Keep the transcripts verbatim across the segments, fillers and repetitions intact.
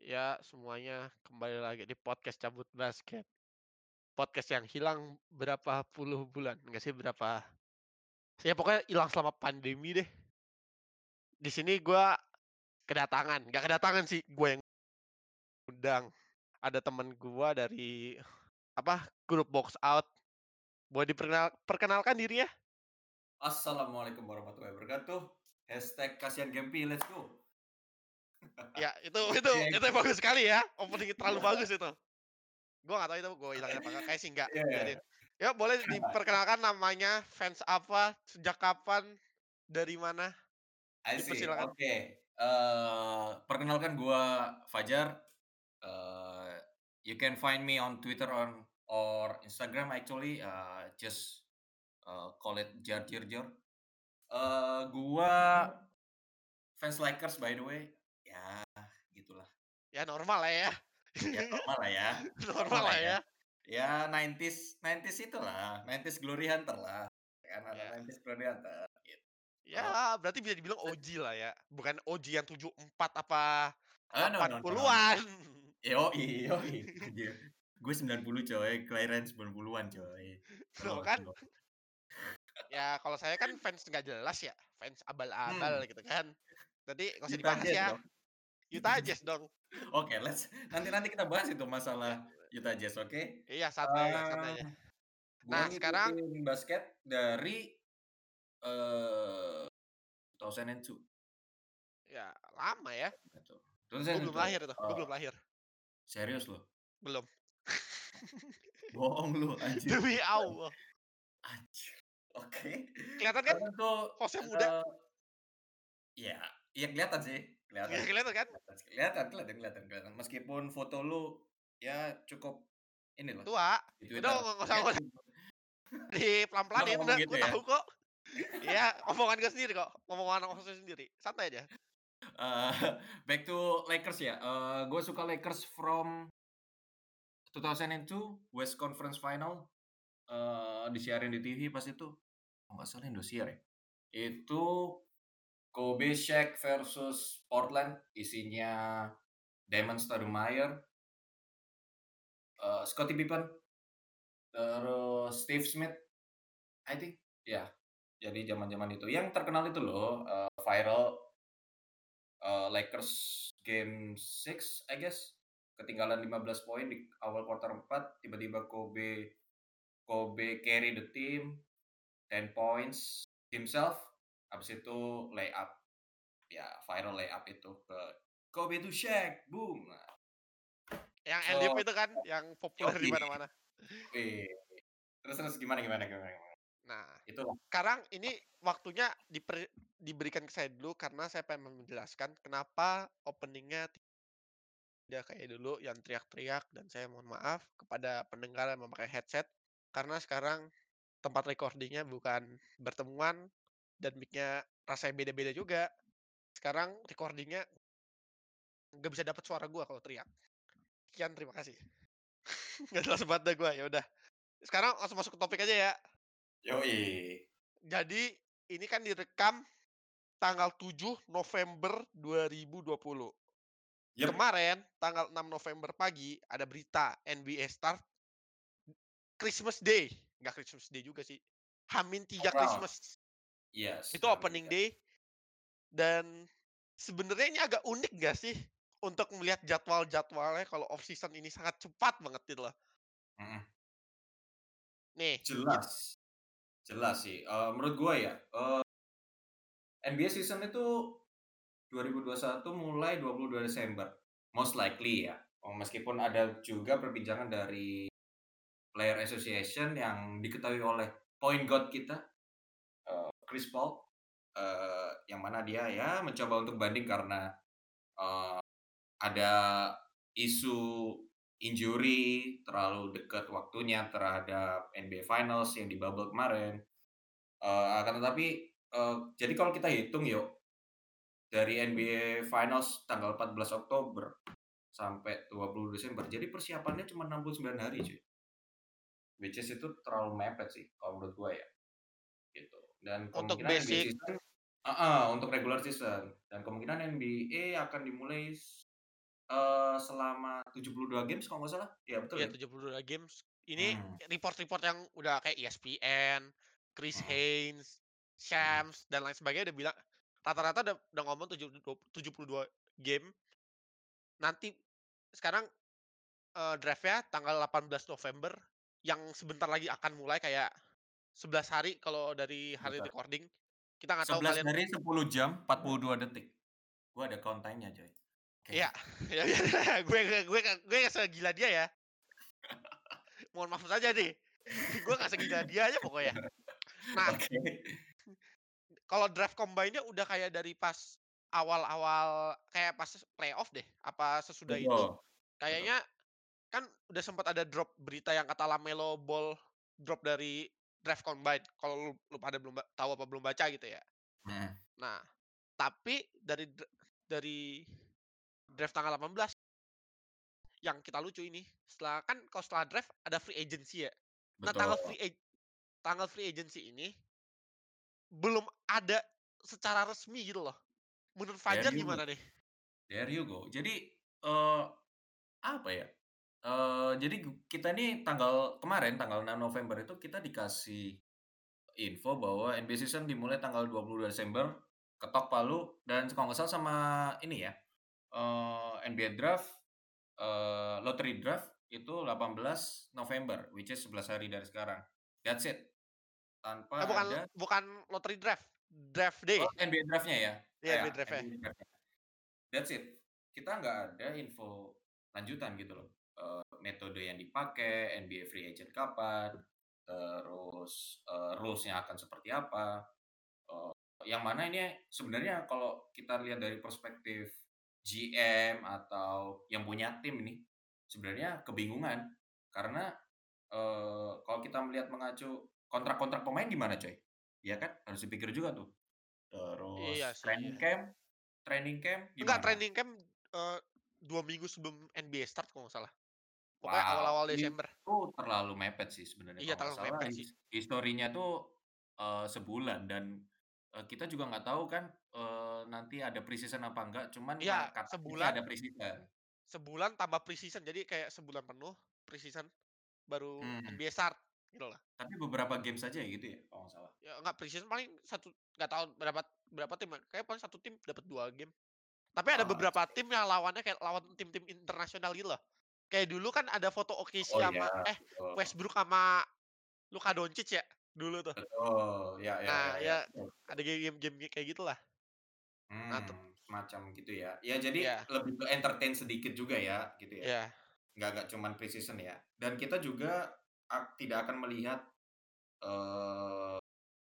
Ya, semuanya kembali lagi di podcast Cabut Basket. Podcast yang hilang berapa puluh bulan, enggak sih berapa ya pokoknya hilang selama pandemi deh. Di sini gua kedatangan, nggak kedatangan sih, gue yang undang. Ada temen gua dari apa, grup Box Out. Boleh diperkenal perkenalkan dirinya? Assalamualaikum warahmatullahi wabarakatuh. Hashtag kasihan Gempi, let's go. Ya, itu itu Iya, itu bagus sekali ya, opening terlalu bagus itu. Gua nggak tahu itu gue hilangin apa enggak, kayaknya sih enggak, biarin. iya. Ya boleh diperkenalkan namanya, fans apa, sejak kapan, dari mana? I see, Dipersilakan. oke. Eee, perkenalkan gua Fajar. Eee, you can find me on Twitter on or Instagram actually, uh, just uh, call it Jar Jir Jor. Eee, gua fans Lakers by the way. Ya, gitulah. Ya normal lah ya. Ya normal lah ya, normal Normal lah lah ya. ya. Ya nineties nineties itulah, nineties Glory Hunter lah. Kan anak Ya. nineties Glory Hunter, gitu. Ya, berarti bisa dibilang O G lah ya. Bukan O G yang tujuh empat apa Ah, no delapan no no no no. puluhan. Yoi yoi, anjir. Gue sembilan puluh coy, kelahiran sembilan puluhan coy. Tuh Slow kan. slow. Ya kalau saya kan fans nggak jelas ya, fans abal-abal Hmm, gitu kan. Jadi nggak usah Utah dibahas Jazz ya. dong. Utah Utah Jazz Jazz. dong. Oke, let's nanti nanti kita bahas itu Ya, masalah Utah Jazz, oke? iya santai aja, santai Eee, aja. gua Nah sekarang ngikutin basket dari, eee, dua ribu dua. ya lama ya. Gitu. Gue belum dua ribu dua, lahir itu, gue eee, belum lahir. serius lu? Belum. Bohong lu anjir. Demi Allah. Anjir, oke. Kelihatan kan Karena tuh, hostnya muda? eee, iya iya kelihatan sih, kelihatan Nggak kelihatan kan? kelihatan sih, kelihatan kelihatan kelihatan kelihatan. Meskipun foto lu ya cukup inilah Tua. di Udah Twitter, nggak usah ya nggak usah lu dipelan-pelanin, ngomong udah gitu gue ya? tahu kok. Iya, omongan gue sendiri kok, omongan orang saya sendiri, santai aja. Eee, back to Lakers ya, eee, gue suka Lakers from dua ribu dua, West Conference Final, eee, disiarin di T V pas itu, kalau nggak salah Indosiar ya. Itu Kobe Shaq versus Portland, isinya Damon Stoudemire, eee, Scottie Pippen, terus Steve Smith, I think, ya. Jadi zaman-zaman itu. Yang terkenal itu loh, eee, viral, eee, Lakers game enam I guess, ketinggalan lima belas poin di awal kuarter empat, tiba-tiba Kobe Kobe carry the team, ten points himself, habis itu layup, ya viral layup itu ke Kobe to Shaq, boom. Nah, Yang Elif so itu kan, yang populer di yoi, mana-mana. wih. Terus terus gimana gimana gimana gimana? Nah, Itulah. sekarang ini waktunya diper diberikan ke saya dulu karena saya pengen menjelaskan kenapa opening-nya tidak kayak dulu yang teriak-teriak dan saya mohon maaf kepada pendengar yang memakai headset, karena sekarang tempat recording-nya bukan bertemuan dan mic-nya rasanya beda-beda juga. Sekarang recording-nya nggak bisa dapat suara gua kalau teriak. Sekian, terima kasih. Nggak jelas banget dah gua, ya udah. Sekarang langsung masuk ke topik aja ya. Yoi. Jadi, ini kan direkam tanggal tujuh November dua ribu dua puluh. Yep. Kemarin, tanggal enam November pagi, ada berita N B A start Christmas Day. Nggak Christmas Day juga sih. Hamin tiga Around. Christmas. Yes, Itu Hamin opening tiga. day. Dan sebenarnya ini agak unik nggak sih? Untuk melihat jadwal-jadwalnya kalau off season ini sangat cepat banget gitu loh. Mhm. Nih, it Jelas, jelas sih, eee, menurut gua ya, eee, N B A season itu dua ribu dua puluh satu mulai dua puluh dua Desember, most likely ya, eee, meskipun ada juga perbincangan dari Player Association yang diketahui oleh point guard kita, eee, Chris Paul, eee, yang mana dia ya mencoba untuk banding karena, eee, ada isu injury, terlalu dekat waktunya terhadap N B A Finals yang di bubble kemarin. Eee, akan tetapi, eee, jadi kalau kita hitung yuk, dari N B A Finals tanggal empat belas Oktober sampai dua puluh Desember, jadi persiapannya cuma enam puluh sembilan hari cuy. Which is itu terlalu mepet sih kalau menurut gua ya, gitu. Dan untuk kemungkinan N B A basic season heeh, untuk regular season dan kemungkinan N B A akan dimulai Eee, selama tujuh puluh dua games kalau nggak salah? Iya betul Iya ya? tujuh puluh dua games. Ini Mmm, report-report yang udah kayak E S P N, Chris mhm, Haynes, mhm, Shams, dan lain sebagainya udah bilang rata-rata udah udah ngomong tujuh du tujuh puluh dua game. Nanti sekarang, eee, draft-nya tanggal delapan belas November, yang sebentar lagi akan mulai kayak sebelas hari kalau dari hari bentar. recording. Kita nggak tahu sebelas kalian. hari sepuluh jam empat puluh dua detik. Gua ada count time-nya coy. Oke. Iya, ya ya gue gue gue nggak gue nggak segila dia ya, mohon maaf saja nih. Gue nggak segila dia aja pokoknya. Nah, Oke. kalau draft combine-nya udah kayak dari pas awal-awal kayak pas playoff deh, apa sesudah itu, Betul, betul. kayaknya kan udah sempat ada drop berita yang kata LaMelo Ball drop dari draft combine, kalau lu lu pada belum ba tahu apa belum baca gitu ya. Mhm, Nah, tapi dari dra dari draft tanggal delapan belas yang kita lucu ini, setelah kan kalau setelah draft ada free agency ya. Nah, betul. tanggal free ag tanggal free agency ini belum ada secara resmi gitu loh. Menurut There Fajar you go gimana nih? there you go. Jadi, eee, apa ya, eee, jadi gu kita nih tanggal kemarin, tanggal enam November itu kita dikasih info bahwa N B A season dimulai tanggal dua puluh dua Desember, ketok palu dan kalau nggak salah sama ini ya, eee, N B A draft, eee, lottery draft itu delapan belas November, which is sebelas hari dari sekarang. That's it, Eh, tanpa bukan ada bukan lottery draft, draft oh, day. N B A draft-nya ya? Ah, Iya, ya, N B A draft-nya. N B A draft-nya. That's it. Kita nggak ada info lanjutan gitu loh, eee, metode yang dipakai, N B A free agent kapan, terus, eee, rules-nya akan seperti apa, eee, yang mana ini sebenarnya kalau kita lihat dari perspektif G M atau yang punya tim nih, sebenarnya kebingungan. Karena, eee, kalau kita melihat mengacu kontrak-kontrak pemain gimana coy? Iya kan? Harus dipikir juga tuh. Iya Terus sih, training iya. camp training camp Enggak, gimana? training camp, eee, dua minggu sebelum N B A start kalau nggak salah. Pokoknya Wow, awal-awal Desember. itu terlalu mepet sih sebenarnya Iya, kalau nggak terlalu salah mepet sih. his historinya tuh, eee, sebulan dan, eee, kita juga nggak tahu kan, eee, nanti ada pre-season apa enggak, cuman ma Iya, katanya sih sebulan ada pre-season. sebulan tambah pre-season, jadi kayak sebulan penuh pre-season, baru Mmm, N B A start, gitu loh. tapi beberapa game saja ya gitu ya kalau nggak salah? Ya enggak, pre-season paling satu, nggak tahu berapa berapa tim ya, kayaknya paling satu tim dapat dua game. Tapi ada Ah, I beberapa see. tim yang lawannya kayak lawan tim-tim internasional gitu loh. Kayak dulu kan ada foto O K C Oh iya, sama eh, betul. Westbrook sama Luka Doncic ya, dulu tuh. Betul, ya ya ya Nah, ya, ya betul betul. ada game-game kayak gitulah. Nah, tuh Mmm, semacam gitu ya. Ya jadi iya, lebih ke entertain sedikit juga ya, gitu ya? iya, Nggak nggak cuman pre-season ya? Dan kita juga ak tidak akan melihat, eee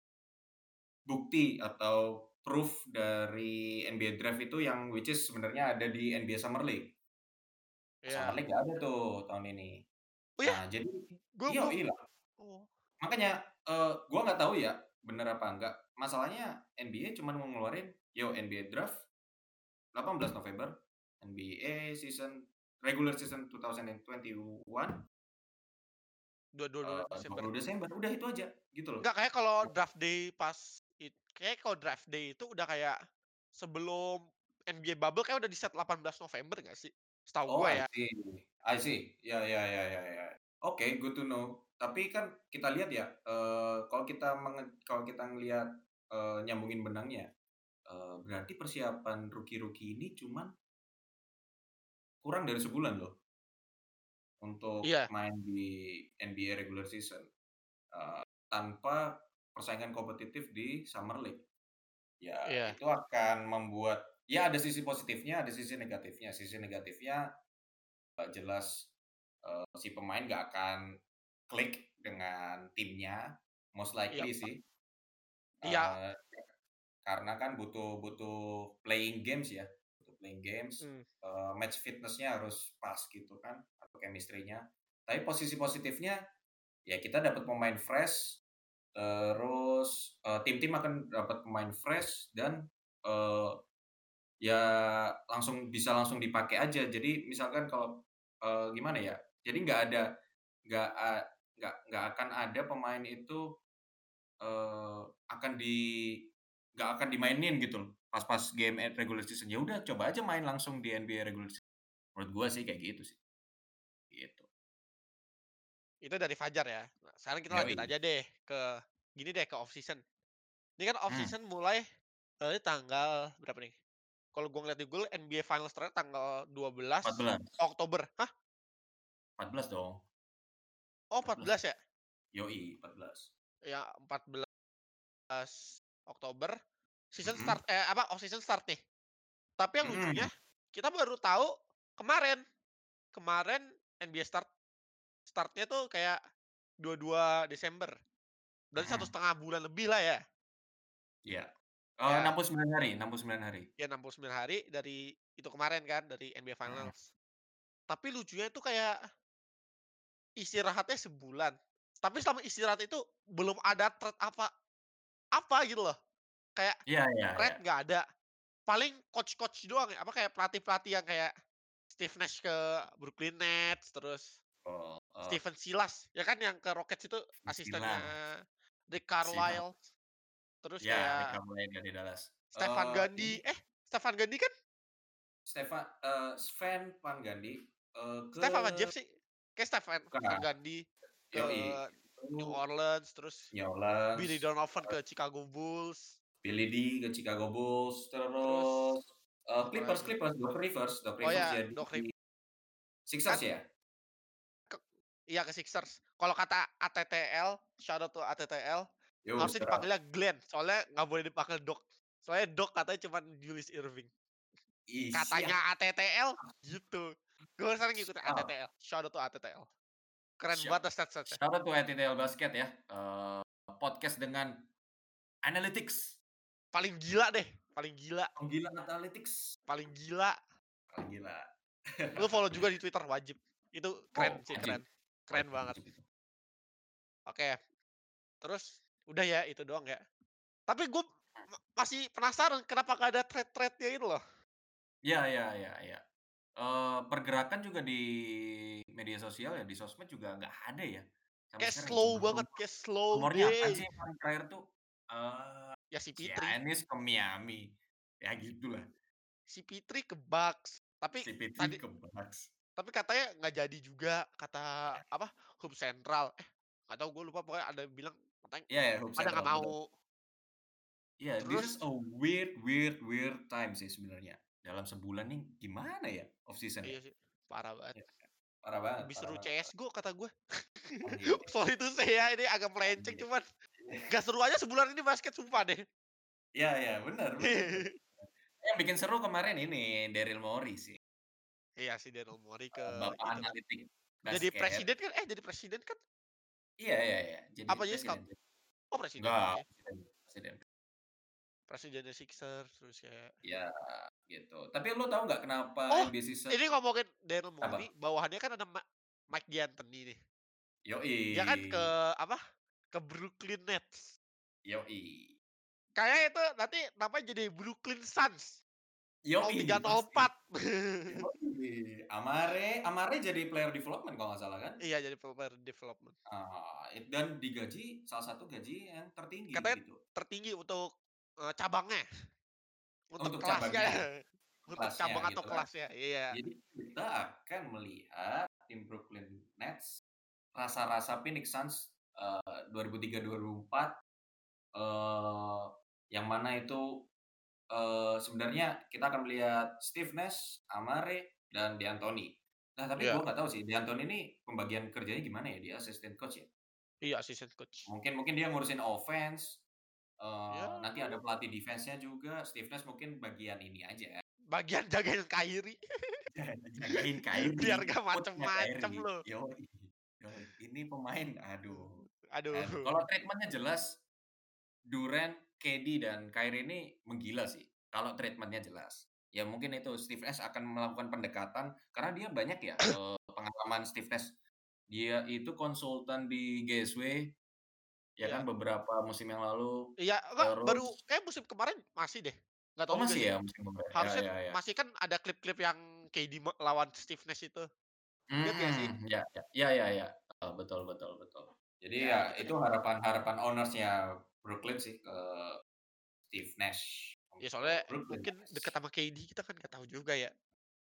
bukti atau proof dari N B A draft itu yang which is sebenarnya ada di N B A Summer League. Nah, Summer iya. League nggak ada tuh tahun ini. Oh ya? Nah, jadi Gue iya belum. iya, Oh, makanya, eee, gua nggak tahu ya bener apa enggak. Masalahnya N B A cuman mau ngeluarin, "Yo N B A draft delapan belas November, N B A season regular season dua ribu dua puluh satu, dua dua dua eee, Desember. dua puluh Desember." Udah itu aja, gitu loh. Enggak, kayak kalau draft day pas it kayaknya kalau draft day itu udah kayak sebelum N B A bubble kayak udah di-set delapan belas November nggak sih? Setahu Oh, gua I ya. see I see. Ya ya ya ya ya. Oke, good to know. Tapi kan kita lihat ya, eee, kalau kita menge kalau kita ngelihat, eee, nyambungin benangnya, eee, berarti persiapan rookie-rookie ini cuman kurang dari sebulan loh, untuk Iya, main di N B A regular season, eee, tanpa persaingan kompetitif di Summer League. Ya, iya, itu akan membuat ya ada sisi positifnya, ada sisi negatifnya. Sisi negatifnya, eee, jelas Eee, si pemain nggak akan klik dengan timnya, most iya, likely Pak. sih, Iya, eee, karena kan butuh butuh playing games ya, butuh playing games, mmm, eee, match fitness-nya harus pas gitu kan, atau chemistry-nya. Tapi posisi positifnya, ya kita dapat pemain fresh, terus, eee, tim-tim akan dapat pemain fresh dan, eee, ya langsung bisa langsung dipakai aja. Jadi misalkan kalau, eee, gimana ya, jadi nggak ada Nggak a nggak nggak akan ada pemain itu, eee, akan di nggak akan dimainin gitu loh, pas-pas game at regular season. Ya udah coba aja main langsung di N B A regular season, Menurut gua sih kayak gitu sih, gitu. Itu dari Fajar ya. Nah, sekarang kita lanjut Yoi. aja deh ke gini deh, ke off season. Ini kan off Mmm, season mulai dari tanggal berapa nih? Kalau gua ngeliat di Google N B A Finals terakhir tanggal dua belas empat belas, Oktober. Hah? empat belas dong, Oh empat belas. empat belas ya? Yoi, empat belas. Ya empat belas Oktober, season Mhm, start eh, apa, off season start nih. Tapi yang lucunya, mhm, kita baru tahu kemarin. Kemarin N B A start start-nya tuh kayak dua puluh dua Desember. Berarti satu mhm, setengah bulan lebih lah ya. iya. Eee, Ya, enam puluh sembilan hari enam puluh sembilan hari. ya enam puluh sembilan hari dari itu kemarin kan, dari N B A Mhm, Finals. Tapi lucunya itu kayak istirahatnya sebulan. Tapi selama istirahat itu belum ada trade apa apa gitu loh. Kayak iya iya iya. trade nggak ada. Paling coach-coach doang ya, apa kayak pelatih-pelatih yang kayak Steve Nash ke Brooklyn Nets, terus Oh, eee, Stephen Silas, ya kan yang ke Rockets itu asistennya Silas, Rick Silas. Carlisle, terus Ya, kayak Rick Carlisle dari Dallas. Stefan Eee, ini Gandhi, eh Stefan Gandhi kan Stefan eee, Sven Van Gundy, eee, ke Steph apa Jeff sih? Kayak Stefan bukan, Van Gundy ke yoi, itu New Orleans, terus New Billy Orleans, Donovan eee, ke Chicago Bulls, Billy D ke Chicago Bulls, terus terus, eee, apa Clippers lagi? Clippers, Doc Rivers Doc Oh Rivers ya, jadi Doc Rivers Sixers kan ya? ke iya ke Sixers. Kalau kata A T T L, shout out to A T T L, Yo, harusnya serap. dipanggilnya Glenn, soalnya nggak boleh dipanggil Doc. Soalnya Doc katanya cuman Julius Irving. Ih, Katanya siap, A T T L gitu. Gue sekarang ngikutin siap, A T T L, shout out to A T T L. Keren siap. banget stats-stats-nya. Shout out to A T T L Basket ya, eee, podcast dengan analytics, Paling gila deh, paling gila, penggila analytics, paling gila. paling gila. Lu follow juga di Twitter wajib. Itu keren Oh, sih, wajib keren. Keren wajib banget. wajib itu. Oke, terus udah ya itu doang ya. Tapi gue masih penasaran kenapa gak ada thread-thread-nya itu loh. Iya iya iya iya. Eee, pergerakan juga di media sosial ya, di sosmed juga nggak ada ya, sampai Kayak sekarang ya. slow Cuma banget, rumor kayak slow rumornya apaan deh. sih yang paling terakhir tuh, eee, Ya si Fitri, Giannis ke Miami, ya gitulah. si Fitri ke Bucks. Tapi Si P tiga tadi ke Bucks. tapi katanya nggak jadi juga kata apa Hub Central. Eh, nggak tahu gue lupa pokoknya ada bilang katanya Iya ya, Hoop pada Central, nggak betul. mau. Iya, this is Terus a weird weird weird time sih sebenarnya. Dalam sebulan nih gimana ya off season ya? iya sih, parah banget. Iya, parah banget Lebih parah seru banget parah. C S G O kata gue. Oh iya iya Sorry tuh saya ini agak melenceng iya. cuman gak seru aja sebulan ini basket sumpah deh. Iya iya, bener bener bener. Yang bikin seru kemarin ini Daryl Morey sih, Iya si Daryl Morey ke eee, bapak itu kan. analitik Jadi basket. presiden kan eh jadi presiden kan? Iya iya iya, jadi Apa jadi scout? presiden. Oh presiden Enggak, juga ya. presiden presiden. Presidennya Sixers terus kayak Iya, gitu. Tapi lu tahu nggak kenapa oh, N B A season ini ngomongin Daryl Morey, apa? bawahannya kan ada Ma Mike D'Antoni nih. Dia kan ke Yoi, apa, ke Brooklyn Nets. yoi, Kayaknya itu nanti namanya jadi Brooklyn Suns nol tiga yoi, nol pasti. empat. Yoi, Amare Amare jadi player development kalau nggak salah kan? Iya jadi player development. Ah, it dan digaji salah satu gaji yang tertinggi Katanya gitu, tertinggi untuk, eee, cabangnya, untuk untuk kelasnya cabangnya ya, ya, untuk kelasnya cabang atau gitu kan. kelasnya, iya. Jadi kita akan melihat tim Brooklyn Nets, rasa-rasa Phoenix Suns, eee, dua ribu tiga, dua ribu empat, eee, yang mana itu, eee, sebenarnya kita akan melihat Steve Nash, Amare, dan D'Antoni. Nah, tapi Iya gua nggak tahu sih D'Antoni ini pembagian kerjanya gimana ya, dia assistant coach ya? iya assistant coach. Mungkin mungkin dia ngurusin offense, Ya eee, nanti ada pelatih defense-nya juga, Steve Nash mungkin bagian ini aja, bagian jagain Kyrie jagain biar Kyrie, gak coach-nya macem-macem Kyrie, loh. yoi yoi, ini pemain aduh Aduh, aduh, kalau treatment-nya jelas Durant, K D, dan Kyrie ini menggila sih, kalau treatment-nya jelas. Ya mungkin itu Steve Nash akan melakukan pendekatan karena dia banyak ya, eee, pengalaman Steve Nash. Dia itu konsultan di G S W, ya kan iya. beberapa musim yang lalu, Iya, enggak, baru terus kayaknya musim kemarin masih deh, nggak oh tahu juga masih sih. ya musim kemarin? Ya Harusnya ya ya. masih kan ada klip-klip yang K D me lawan Steve Nash itu, inget gak sih? Mhm, ya ya, ya ya ya, eee, betul betul betul. Jadi Ya ya gitu itu deh. harapan-harapan owner-nya Brooklyn sih ke Steve Nash Ya soalnya untuk Brooklyn mungkin deket Nets. sama K D kita kan nggak tahu juga ya.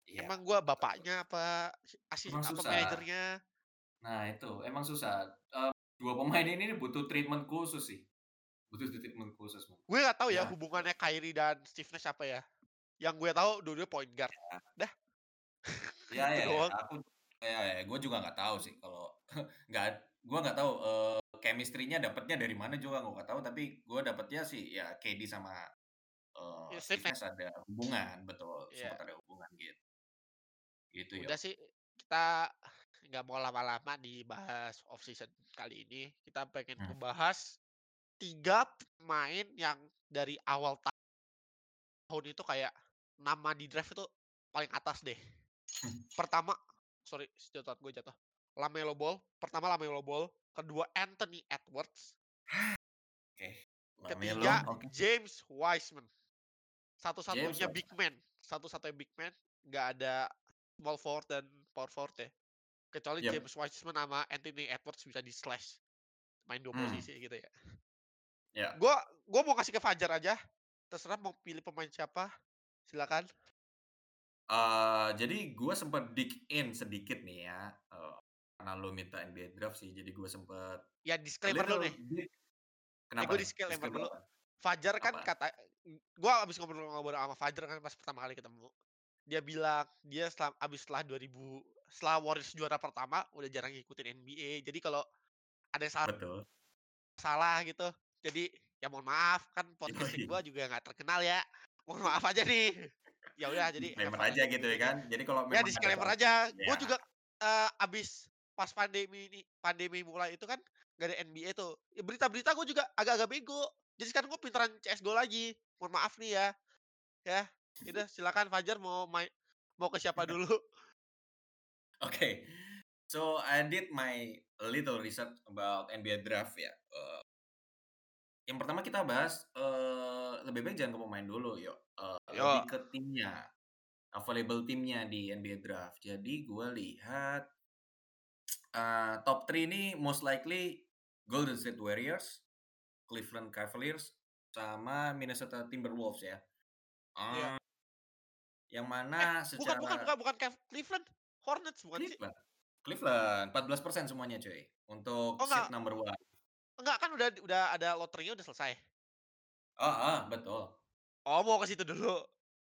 Iya, Emang gua betul. bapaknya apa asis Emang apa susah. manajernya. Nah itu, emang susah. Eee, dua pemain ini nih butuh treatment khusus sih, butuh treatment khusus mungkin. Gue nggak tahu ya Ya gitu. hubungannya Kyrie dan Steve Nash apa ya. Yang gue tahu dua-duanya point guard. Ya. Dah. Ya Itu ya ya, doang. aku ya ya, gue juga nggak tahu sih kalau nggak gue nggak tahu, eee, chemistry-nya dapatnya dari mana juga gue nggak tahu, tapi gue dapatnya sih ya K D sama, eee, Ya Steve Steve Nash. Nash ada hubungan, betul, Iya. sempat ada hubungan gitu. Gitu, Udah Yok. sih, kita nggak mau lama-lama dibahas off season kali ini. Kita pengen Hmm. ngebahas tiga pemain yang dari awal tahun itu kayak nama di draft itu paling atas deh. Pertama, sorry jatuh gue jatuh. LaMelo Ball, pertama LaMelo Ball, kedua Anthony Edwards, Oke, LaMelo, ketiga oke. James Wiseman. James Satu-satunya big Wiseman. man, satu-satunya big man, nggak ada small forward dan power forward ya. Kecuali Yap. James Wiseman sama Anthony Edwards bisa di-slash, main dua Mmm. posisi gitu ya. Ya. Gua gua mau kasih ke Fajar aja, terserah mau pilih pemain siapa, silakan. Eee, jadi gue sempet dig in sedikit nih ya, eee, karena lu minta N B A draft sih, jadi gue sempet Ya a disclaimer dulu nih. little bit Eh, kenapa gue nih? disclaimer Disclaimer dulu. apa? Fajar kan Apa? kata gua habis ngobrol-ngobrol sama Fajar kan pas pertama kali ketemu. Dia bilang dia setelah habis setelah dua ribu setelah Warriors juara pertama udah jarang ngikutin N B A. Jadi kalau ada yang salah Betul. salah gitu, jadi ya mohon maaf kan podcast-nya Yoi. gua juga nggak terkenal ya. Mohon maaf aja nih. Ya udah jadi have Disclaimer fun aja aja gitu ya dengernya. kan. Jadi kalau Ya memang ada disclaimer salah aja. Gue ya. juga, eee, habis pas pandemi ini pandemi mulai itu kan nggak ada N B A tuh. Ya berita-berita gue juga agak-agak bego. Jadi sekarang gue pinteran C S G O lagi. Mohon maaf nih ya. Ya, ya udah silakan Fajar mau mai mau ke siapa dulu? Oke. So, I did my little research about N B A draft ya, eee, yang pertama kita bahas, eee, lebih baik jangan ke pemain dulu Yok, eee, lebih Yo, ke timnya, available timnya di N B A draft. Jadi gue lihat, eee, top tiga ini most likely Golden State Warriors, Cleveland Cavaliers, sama Minnesota Timberwolves ya. iya. Eee, yang Eh, mana bukan bukan secara bukan bukan Kev Cleveland, Hornets bukan sih? Cleveland Cleveland, empat belas persen semuanya cuy, untuk Oh seed enggak number one. enggak kan udah udah ada loterinya udah selesai? Heeh, betul. Oh mau ke situ dulu?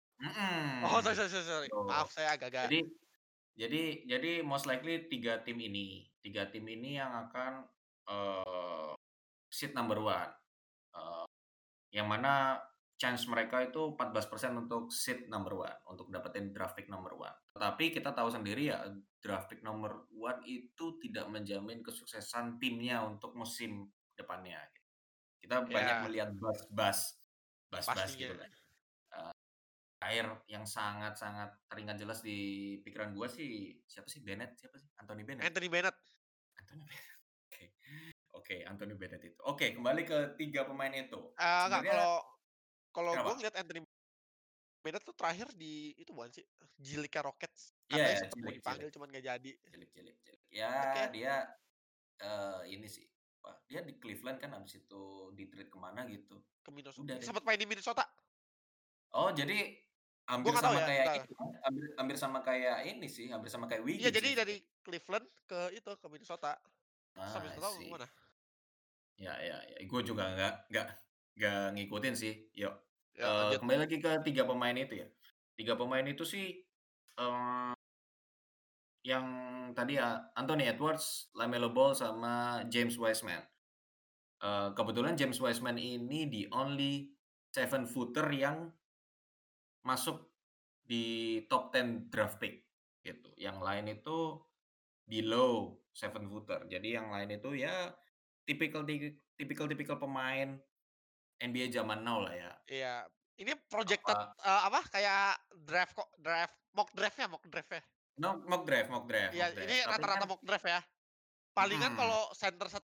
Oh sorry Mhm, sorry sorry sorry. betul. Maaf saya agak-agak Jadi jadi jadi most likely tiga tim ini tiga tim ini yang akan, eee, seed number one, eee, yang mana chance mereka itu empat belas persen untuk seed number one, untuk dapetin draft pick number one. Tetapi kita tahu sendiri ya, draft pick number one itu tidak menjamin kesuksesan timnya untuk musim depannya. Kita banyak ya melihat buzz-buzz, buzz-buzz pastinya. gitulah, eee, air yang sangat-sangat teringat jelas di pikiran gua sih, siapa sih, Bennett, siapa sih? Anthony Bennett ya? Anthony Bennett. Anthony Bennett, oke. Oke, Anthony Bennett itu. Oke, kembali ke tiga pemain itu. Eee, enggak, Sebenarnya kalau kalau gue kenapa? ngeliat Anthony Bennett tuh terakhir di itu bukan sih, G League-nya Rockets. Iya Katanya ya, sempet mau cilik cilik. dipanggil cuman nggak jadi. Cilik cilik cilik. Ya Oke, dia, eee, ini sih, apa, dia di Cleveland kan habis itu di-trade ke mana gitu. ke Minnesota Udah deh. sempet main di Minnesota. Oh, jadi Gue hampir nggak tahu sama ya, kayak entar. ini kan, hampir hampir sama kayak ini sih, hampir sama kayak Iya, Wiggins jadi sih dari sebenarnya. Cleveland ke itu, ke Minnesota. Terus habis I Minnesota ke see. mana? Ya ya ya, gue juga nggak nggak nggak ngikutin sih, Yok. Ya Eee, lanjut. kembali lagi ke tiga pemain itu ya. Tiga pemain itu sih, eee, yang tadi ya, Anthony Edwards, LaMelo Ball, sama James Wiseman. Eee, kebetulan James Wiseman ini the only seven footer yang masuk di top sepuluh draft pick, gitu. Yang lain itu below seven footer. Jadi yang lain itu ya tipikal ti tipikal-tipikal pemain N B A zaman now lah ya. Iya, ini projected, Apa eee, apa, kayak draft kok draft mock draft-nya mock draft-nya. no mock draft mock draft Iya, mock ini draft. Tapi rata-rata kan mock draft ya. Palingan mhm, kalau center satu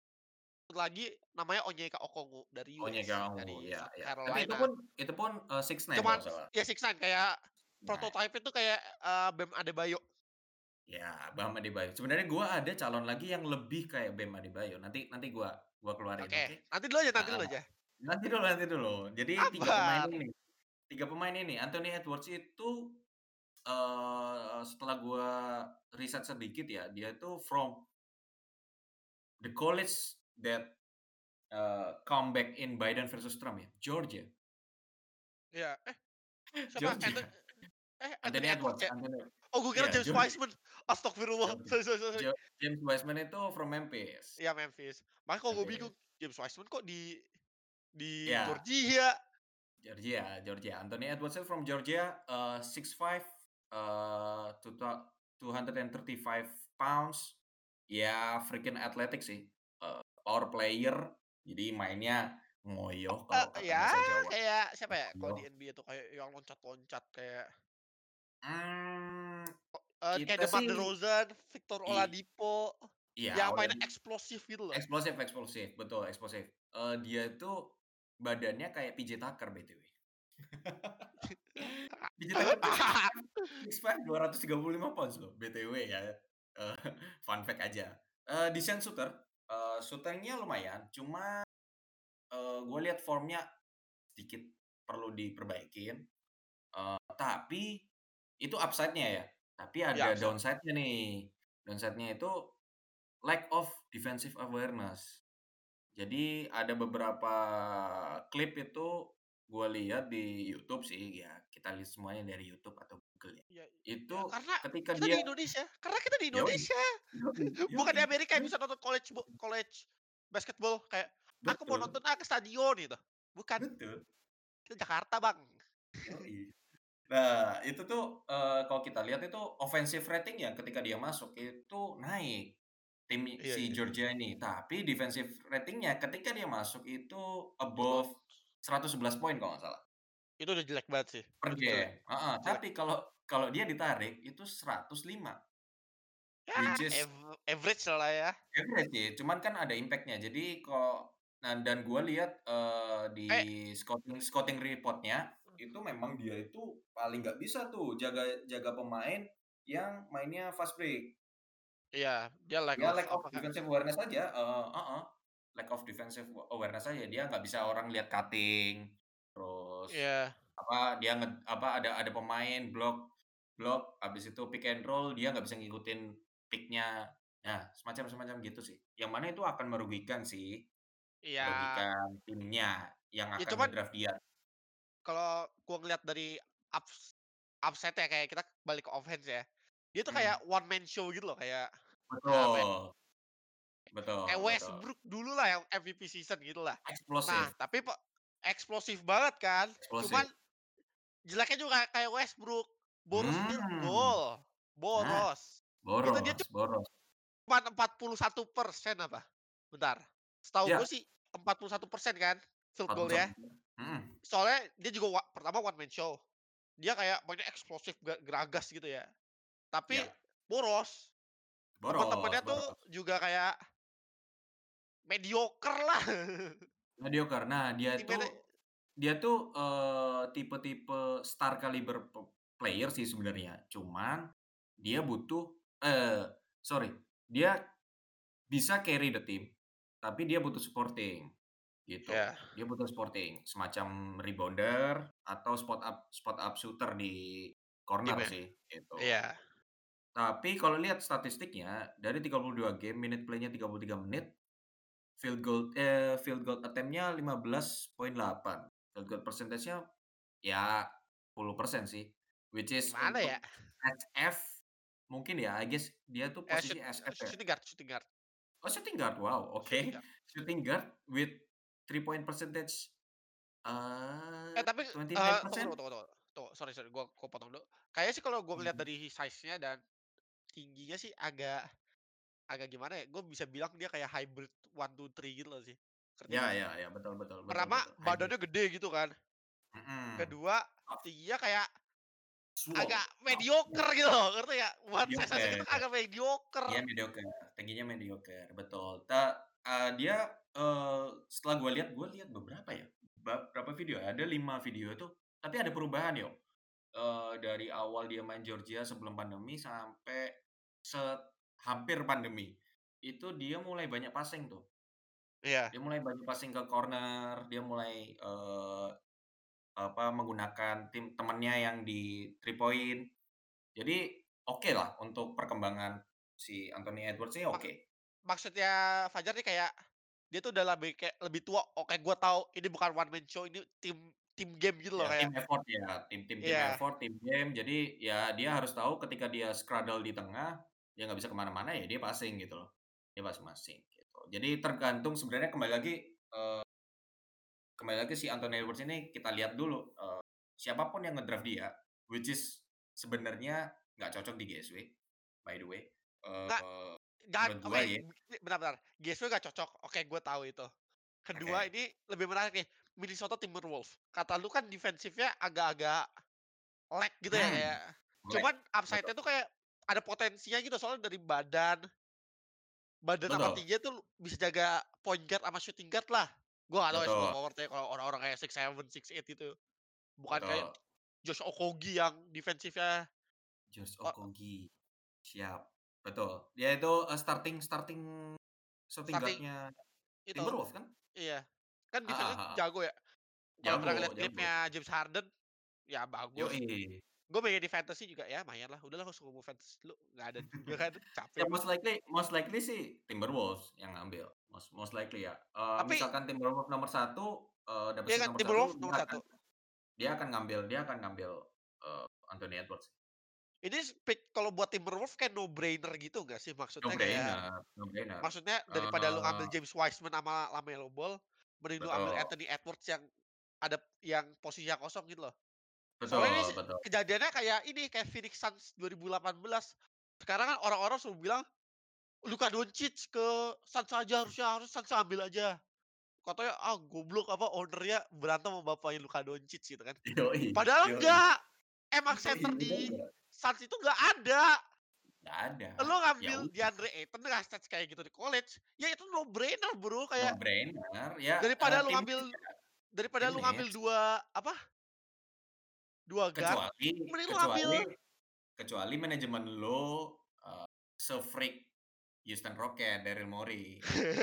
lagi namanya Onyeka Okongwu dari Onyeka U S, Onwenu, dari ya South ya. Tapi itu Carolina. pun itu pun, eee, six nine Cuman kalau nggak salah. ya six nine kayak Nah, prototype itu kayak, eee, Bam Adebayo. ya Bam Adebayo. Sebenarnya gua ada calon lagi yang lebih kayak Bam Adebayo. Nanti nanti gua gua keluarin, Oke, oke? nanti dulu aja nanti Heeh. dulu aja. Nanti dulu nanti dulu. Jadi tiga pemain Sabar. ini tiga pemain ini, Anthony Edwards itu, eee, setelah gua riset sedikit ya, dia itu from the college that, eee, comeback in Biden versus Trump ya, Georgia. Iya, eh, siapa? Anto Georgia. eh, Anthony Anthony Edwards Edwards ya? Anthony Oh, gue kira iya, James Georgia. Wiseman. Astagfirullah. Georgia. Sorry sorry sorry. Ja James Wiseman itu from Memphis. Iya, Memphis. Makanya kok gue bingung, Memphis. James Wiseman kok di di Iya. Georgia? Georgia Georgia. Anthony Edwards itu from Georgia, eee, six five, eee, two thou two hundred thirty five pounds. Ya freaking athletic sih, eee, power player, jadi mainnya ngoyoh kalau Eee, kata ya bahasa Jawa. kayak siapa ya, kalau di Ngoyoh. N B A tuh kayak yang loncat-loncat kayak Mmm, o eee, kayak kita DeMar sih DeRozan, Victor i Oladipo, iya, yang mainnya Oladi eksplosif gitu loh. eksplosif eksplosif, betul eksplosif. Eee, dia itu badannya kayak P J Tucker B T W. P J Tucker tuh six five six five, dua ratus tiga puluh lima pounds loh, B T W ya, eee, fun fact aja. Eee, decent shooter, eee, shooting-nya lumayan, cuma, eee, gua lihat formnya sedikit perlu diperbaikin, eee, tapi itu upside-nya ya, tapi Iya, ada upside. downside-nya nih. Downside-nya itu lack of defensive awareness. Jadi ada beberapa klip itu gua lihat di YouTube sih, ya kita lihat semuanya dari YouTube atau Google ya. Iya iya, Itu karena ketika kita dia di Indonesia karena kita di yoi, Indonesia. yoi, Bukan di yoi, Amerika yang dan bisa nonton college bo college basketball kayak, "Aku mau betul, nonton ah, ke stadion," gitu. Bukan, betul, kita Jakarta, Bang. yoi. Nah, itu tuh, eee, kalau kita lihat itu offensive rating-nya ketika dia masuk itu naik, tim Iya si iya iya. Georgia ini. Tapi defensive rating-nya ketika dia masuk itu Turun. above seratus sebelas poin kalau nggak salah, Itu udah jelek banget sih, per udah jelek game, heeh. jelek. Tapi kalau kalau dia ditarik itu seratus lima, Ya, which is ave average lah ya. average sih, cuman kan ada impact-nya. Jadi kok nah dan gua lihat, eee, di Eh, scouting scouting report-nya, itu memang dia itu paling nggak bisa tuh jaga jaga pemain yang mainnya fast break. iya, dia lack Dia of lack of apa, Kak, defensive awareness aja, eee, heeh, lack of defensive awareness aja. Dia nggak bisa orang lihat cutting, terus iya apa, dia nge apa, ada ada pemain blok blok, habis itu pick and roll, dia nggak bisa ngikutin pick-nya. Nah, semacam-semacam gitu sih. Yang mana itu akan merugikan sih, iya. merugikan timnya yang Ya akan cuman nge-draft dia. kalau gua ngeliat dari ups upside-ya kayak kita balik ke offense ya, dia tuh Mhm, kayak one man show gitu loh, kayak, apa ya, betul, kayak betul betul. Westbrook dulu lah yang M V P season gitu lah. Nah, Eksplosif tapi pe eksplosif banget kan, cuman eksplosif. jeleknya juga kayak Westbrook, boros field Mmm, goal, nah, boros. Itu dia boros boros. cuman empat puluh satu persen apa, bentar, setahu gue Ya, sih empat puluh satu persen kan field empat puluh goal-nya. satu mhm, Soalnya dia juga wa pertama one man show, dia kayak mainnya eksplosif ga geragas gitu ya, tapi iya, boros. boros Teman-temannya tuh boros. juga kayak mediocre lah. Mediocre. Nah, dia Timnya tuh dia tuh, eee, tipe-tipe star caliber pe player sih sebenarnya, cuman dia butuh eee, sorry, dia bisa carry the team, tapi dia butuh supporting, gitu. ya, Dia butuh supporting, semacam rebounder atau spot up spot up shooter di corner timnya, sih, gitu. iya. Tapi kalau lihat statistiknya, dari tiga puluh dua game, minute play-nya tiga puluh tiga menit, field goal eee, field goal attempt-nya lima belas koma delapan, field goal percentage-nya ya sepuluh persen sih, which is Gimana ya, untuk S F mungkin ya, I guess dia tuh eee, shoot posisi S F ya? shooting guard shooting guard Oh shooting guard, wow, oke. shooting guard. Shooting guard with three point percentage, Eh, eee, tapi, eee, tunggu dua puluh sembilan persen? tunggu tunggu tunggu tunggu, sorry sorry, gua gua potong dulu. Kayaknya sih kalau gua ngelihat Mhm. dari size-nya dan tingginya sih agak agak gimana ya, gue bisa bilang dia kayak hybrid one two three gitu loh sih, ngerti Ya nggak sih? ya ya, betul betul betul Pertama betul, hybrid. badannya gede gitu kan, Mhm. kedua Oh, tingginya kayak agak swole. Oh, mediocre gitu loh, ngerti nggak? One size-nya mediocre. kita agak mediocre. Iya mediocre, tingginya mediocre, betul. Ta eee, dia, eee, setelah gua lihat gua lihat beberapa ya, ba berapa video ya, ada lima video tuh, tapi ada perubahan yo, eee, dari awal dia main Georgia sebelum pandemi sampai set hampir pandemi, itu dia mulai banyak passing tuh. Iya, Dia mulai banyak passing ke corner, dia mulai, eee, apa, menggunakan tim temennya yang di three point, Jadi okelah untuk perkembangan si Anthony Edwards ini Mak oke. maksudnya Fajar nih kayak, dia tuh udah lebih kayak lebih tua, oke gua tahu ini bukan one man show, ini tim tim game gitu loh Ya kayak tim effort ya, tim tim tim iya. effort, tim game, jadi ya dia harus tahu ketika dia straddle di tengah, dia nggak bisa ke mana-mana, ya dia passing gitu loh. Dia passing-passing gitu. Jadi tergantung sebenarnya kembali lagi, eee kembali lagi si Anthony Edwards ini kita lihat dulu, eee, siapa pun yang nge-draft dia, which is sebenarnya nggak cocok di G S W, by the way, Nggak eee, nggak menurut oke, gua ya. bentar bentar, G S W nggak cocok, oke gua tahu itu. Kedua Oke. ini lebih menarik nih, Minnesota Timberwolves. Kata lu kan defensif-nya agak-agak lag gitu ya Hmm, kayak, melek, cuman betul. upside-nya tuh kayak ada potensinya gitu soalnya dari badan badan sama Betul. tingginya tuh bisa jaga point guard sama shooting guard lah. Gua nggak tahu ya small Betul. forward-nya kalau orang-orang kayak six seven, six eight itu. Bukan kayak Betul. Josh Okogie yang defensif-nya Josh o Okogie, siap, betul. Dia itu, eee, starting starting shooting starting guard-nya itu, Timberwolves kan? iya. Kan Heeh defense-nya heeh. jago ya. Kalau pernah Jago ngeliat jago. klipnya James Harden, ya bagus. Yoi. Gue pengen di fantasy juga ya lumayan lah, udahlah nggak usah ngomong fantasy dulu, nggak ada juga kan, capek Ya gue. most likely most likely sih Timberwolves yang ngambil, most most likely ya. Eee, Tapi misalkan Timberwolves nomor satu, eee, dapet iya seat kan nomor satu, Timberwolves dia nomor akan satu. dia akan ngambil dia akan ngambil, eee, Anthony Edwards. Ini pick kalau buat Timberwolves kayak no brainer gitu nggak sih? No Maksudnya kayak brainer no brainer. maksudnya daripada lu ngambil Eee, James Wiseman sama LaMelo Ball, mending lu ambil betul. Anthony Edwards yang ada yang posisinya kosong gitu loh. Soalnya ini Betul betul. kejadiannya kayak ini, kayak Phoenix Suns dua ribu delapan belas. Sekarang kan orang-orang selalu bilang, Luka Doncic ke Suns aja harusnya, harus Suns ambil aja. Katanya, ah goblok apa owner-nya berantem sama bapaknya Luka Doncic gitu kan. Yoi Padahal yoi. enggak, emang center Yoi, bener di nggak? Suns itu nggak ada. Nggak ada, Lu ya ngambil udah, DeAndre Ayton dengan stats kayak gitu di college, ya itu no brainer Bro, no kayak brainer, ya, eee, daripada lu tim ngambil ya daripada tim lu ngambil needs, dua apa, dua guard, kecuali mending lu ngambil kecuali kecuali manajemen lo, eee, se-freak Houston Rockets, Daryl Morey.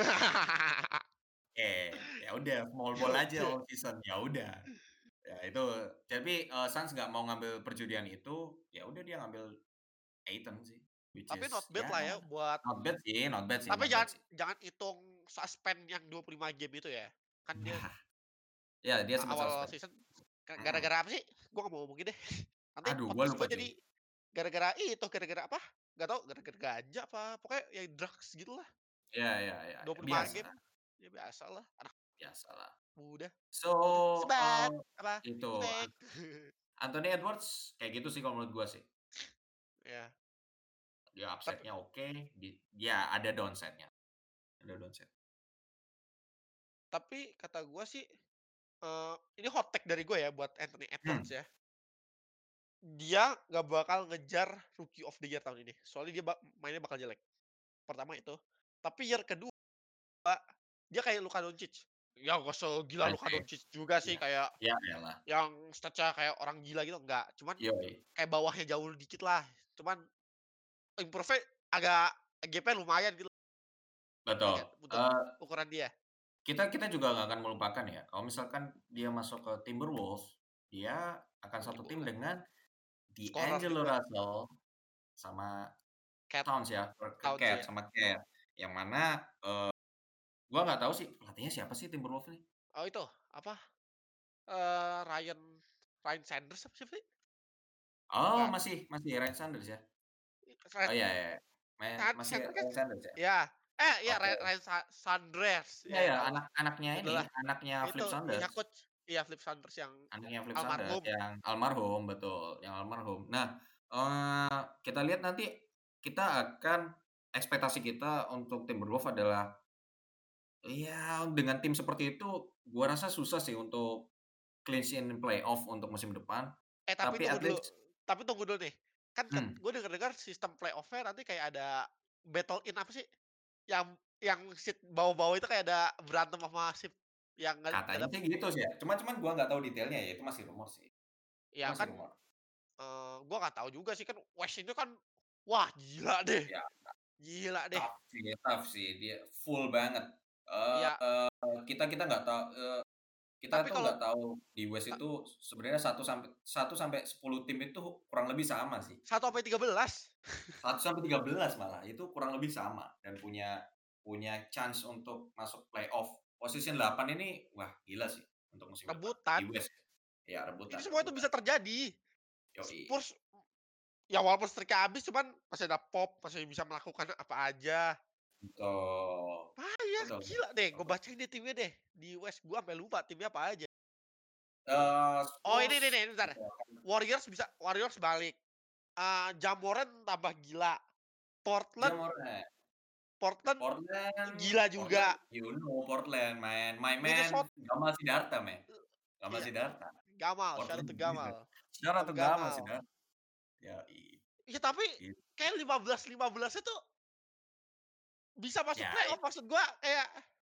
Eh, ya udah small ball aja all season, ya udah. Ya itu, tapi, eee, Suns nggak mau ngambil perjudian itu, ya udah dia ngambil Ayton sih, which tapi not is bad ya lah ya buat not bad sih not bad sih tapi not bad jangan sih. jangan hitung suspend yang dua puluh lima game itu ya. Kan dia Nah, ya dia a sempet awal suspend. season Mhm. gara-gara apa sih? Gua nggak mau ngomongin deh. Nanti Aduh gua podcast lupa gua cuy. jadi gara-gara itu, gara-gara apa, nggak tahu gara-gara ganja apa, pokoknya ya drugs gitulah. Ya ya ya ya, dua puluh lima biasa game, ya biasalah anak biasalah. muda. So, Itu sebat, eee, apa, itu An fake. Anthony Edwards kayak gitu sih kalau menurut gua sih. Ya, Dia tapi upside-nya oke, di ya ada downside-nya, ada downside. tapi kata gua sih, eee, ini hot take dari gua ya buat Anthony Edwards Hmm, ya. Dia nggak bakal ngejar Rookie of the Year tahun ini. Soalnya dia bak mainnya bakal jelek. Pertama itu. Tapi year kedua, dia kayak Luka Doncic. Ya nggak segila Luka anjir. Doncic juga sih, Iya. kayak Ya elah, yang stats-nya kayak orang gila gitu, enggak. Cuman yoi, kayak bawahnya jauh dikit lah. Cuman improve-nya agak gap-nya lumayan gitu, ngerti betul. nggak untuk Eee, ukuran dia? kita kita juga nggak akan melupakan ya, kalau misalkan dia masuk ke Timberwolves, dia akan Oh, satu tim gila. dengan Scorer D'Angelo juga. Russell sama Cat Towns ya, per ke Towns Cat ya. sama Cat, yang mana, eee, gua nggak tahu sih pelatihnya siapa sih Timberwolves ini? Oh itu, apa, eee, Ryan Ryan Sanders apa siapa sih? Oh Bukan. masih masih Ryan Saunders ya? Oh Ryan iya iya, iya. Me Kan masih center kan? Ryan Saunders ya? Iya. Eh, iya Oke. Ryan Ryan Sa Sanders, Iya ya iya, tahu. anak anaknya Ya ini, udahlah, anaknya itu Flip ininya Saunders. coach, iya Flip Sanders yang Anaknya Flip Saunders almarhum. yang almarhum, betul, yang almarhum. Nah, eee, kita lihat nanti kita akan ekspektasi kita untuk Timberwolves adalah, ya dengan tim seperti itu gua rasa susah sih untuk clinch in playoff untuk musim depan, Eh, tapi tapi tunggu at dulu least tapi tunggu dulu nih, kan ket mmm, gue denger-dengar sistem playoff-nya nanti kayak ada battle in apa sih, yang yang seat bawah-bawah itu kayak ada berantem sama seat yang nggak nggak katanya dap sih gitu sih ya, cuman cuman gua nggak tahu detailnya ya, itu masih rumor sih, itu ya masih kan, rumor. eee, gua nggak tahu juga sih kan West itu kan, wah gila deh, Ya gila deh. tough sih tough sih, dia full banget, Iya, eee, kita kita nggak tahu, eee Kita Tapi tuh kalau nggak tahu di West a itu sebenarnya satu sampai satu sampai sepuluh tim itu kurang lebih sama sih. satu sampai tiga belas. satu sampai tiga belas malah, itu kurang lebih sama dan punya punya chance untuk masuk playoff. Position delapan ini, wah gila sih untuk musim depan di Rebutan. West. Ya Itu rebutan semua itu rebutan. bisa terjadi. Yoi, Spurs ya walaupun streak-nya habis cuman masih ada Pop, masih bisa melakukan apa aja. betul. Payah, Betul gila deh, gue betul. bacain deh timnya deh. Di West gua sampai lupa timnya apa aja. Eee, Oh ini nih Spurs nih, bentar. Warriors bisa Warriors balik. Eee, Ja Morant tambah gila. Portland Jamoran. Portland Portland gila Portland, juga. you know Portland, man. My man Minnesota Gamal Sidarta, man. Gamal iya, Sidarta. Gamal, shout out Portland to gila. Gamal. Shout out Om to Gamal Gamal. Sidarta. Yoi, Iya tapi gitu. kayak lima belas lima belas itu bisa masuk Ya, playoff maksud gua kayak,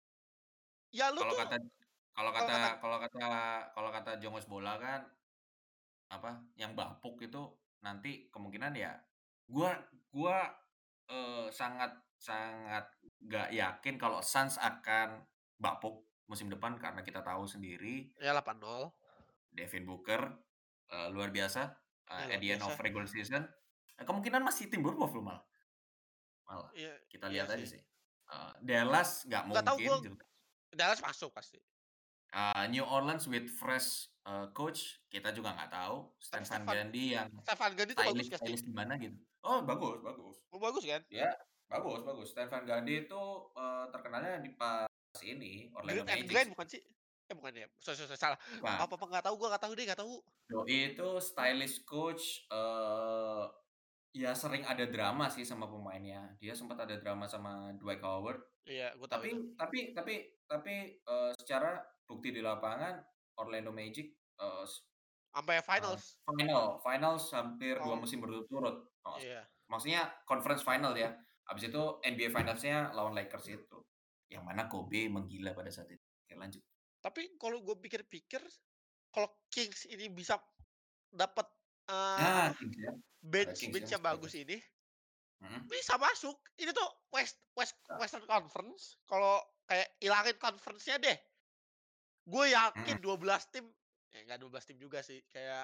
ya lu kalau tuh kata kalau kalau kata kata kalau kata kalau kata Jongos Bola kan, apa, yang bapuk itu nanti kemungkinan ya gua gua, eee, sangat sangat nggak yakin kalau Suns akan bapuk musim depan karena kita tahu sendiri ya delapan nol. Devin Booker, eee, luar biasa, eee, Ya at luar the end of biasa. regular season, eee, kemungkinan masih Timberwolves loh malah malah, Iya kita iya lihat aja sih. sih. Eee, Dallas nggak Nggak tahu mungkin gua juga. Dallas masuk pasti. Eee, New Orleans with fresh, eee, coach, kita juga nggak tahu. Tapi Stan Van Stefan Gundy yang Stefan Gandhi itu bagus gak sih? stylish-stylish gimana gitu. Oh, bagus bagus. Oh, bagus kan? Dia bagus bagus. Stan Van Gundy itu, eee, terkenalnya di pas ini, Orlando Grit and Magic Grind sih. bukan sih? Eh bukan ya? Sorry sorry sorry, salah. Bukan. Apa-apa nggak tahu gua nggak tahu deh, nggak tahu. Doi itu stylish coach, eee, ya sering ada drama sih sama pemainnya. Dia sempat ada drama sama Dwight Howard. Iya, gua tahu itu. Tapi tapi tapi tapi, eee, secara bukti di lapangan Orlando Magic, eee, s Sampai eee, finals. final finals hampir dua Oh, musim berturut-turut, heeh. iya. Maksudnya conference final ya, habis itu N B A Finals-nya lawan Lakers itu, yang mana Kobe menggila pada saat itu. Oke lanjut. Tapi kalau gue pikir-pikir, kalau Kings ini bisa dapat, eee, Nah, apa, Kings ya, ada Kings ya bench-bench yang masih bagus bagus. ini, Mhm, bisa masuk. Ini tuh West West bisa. Western Conference, kalau kayak ilangin conference-nya deh, gue yakin Mhm, dua belas tim eh, nggak dua belas tim juga sih, kayak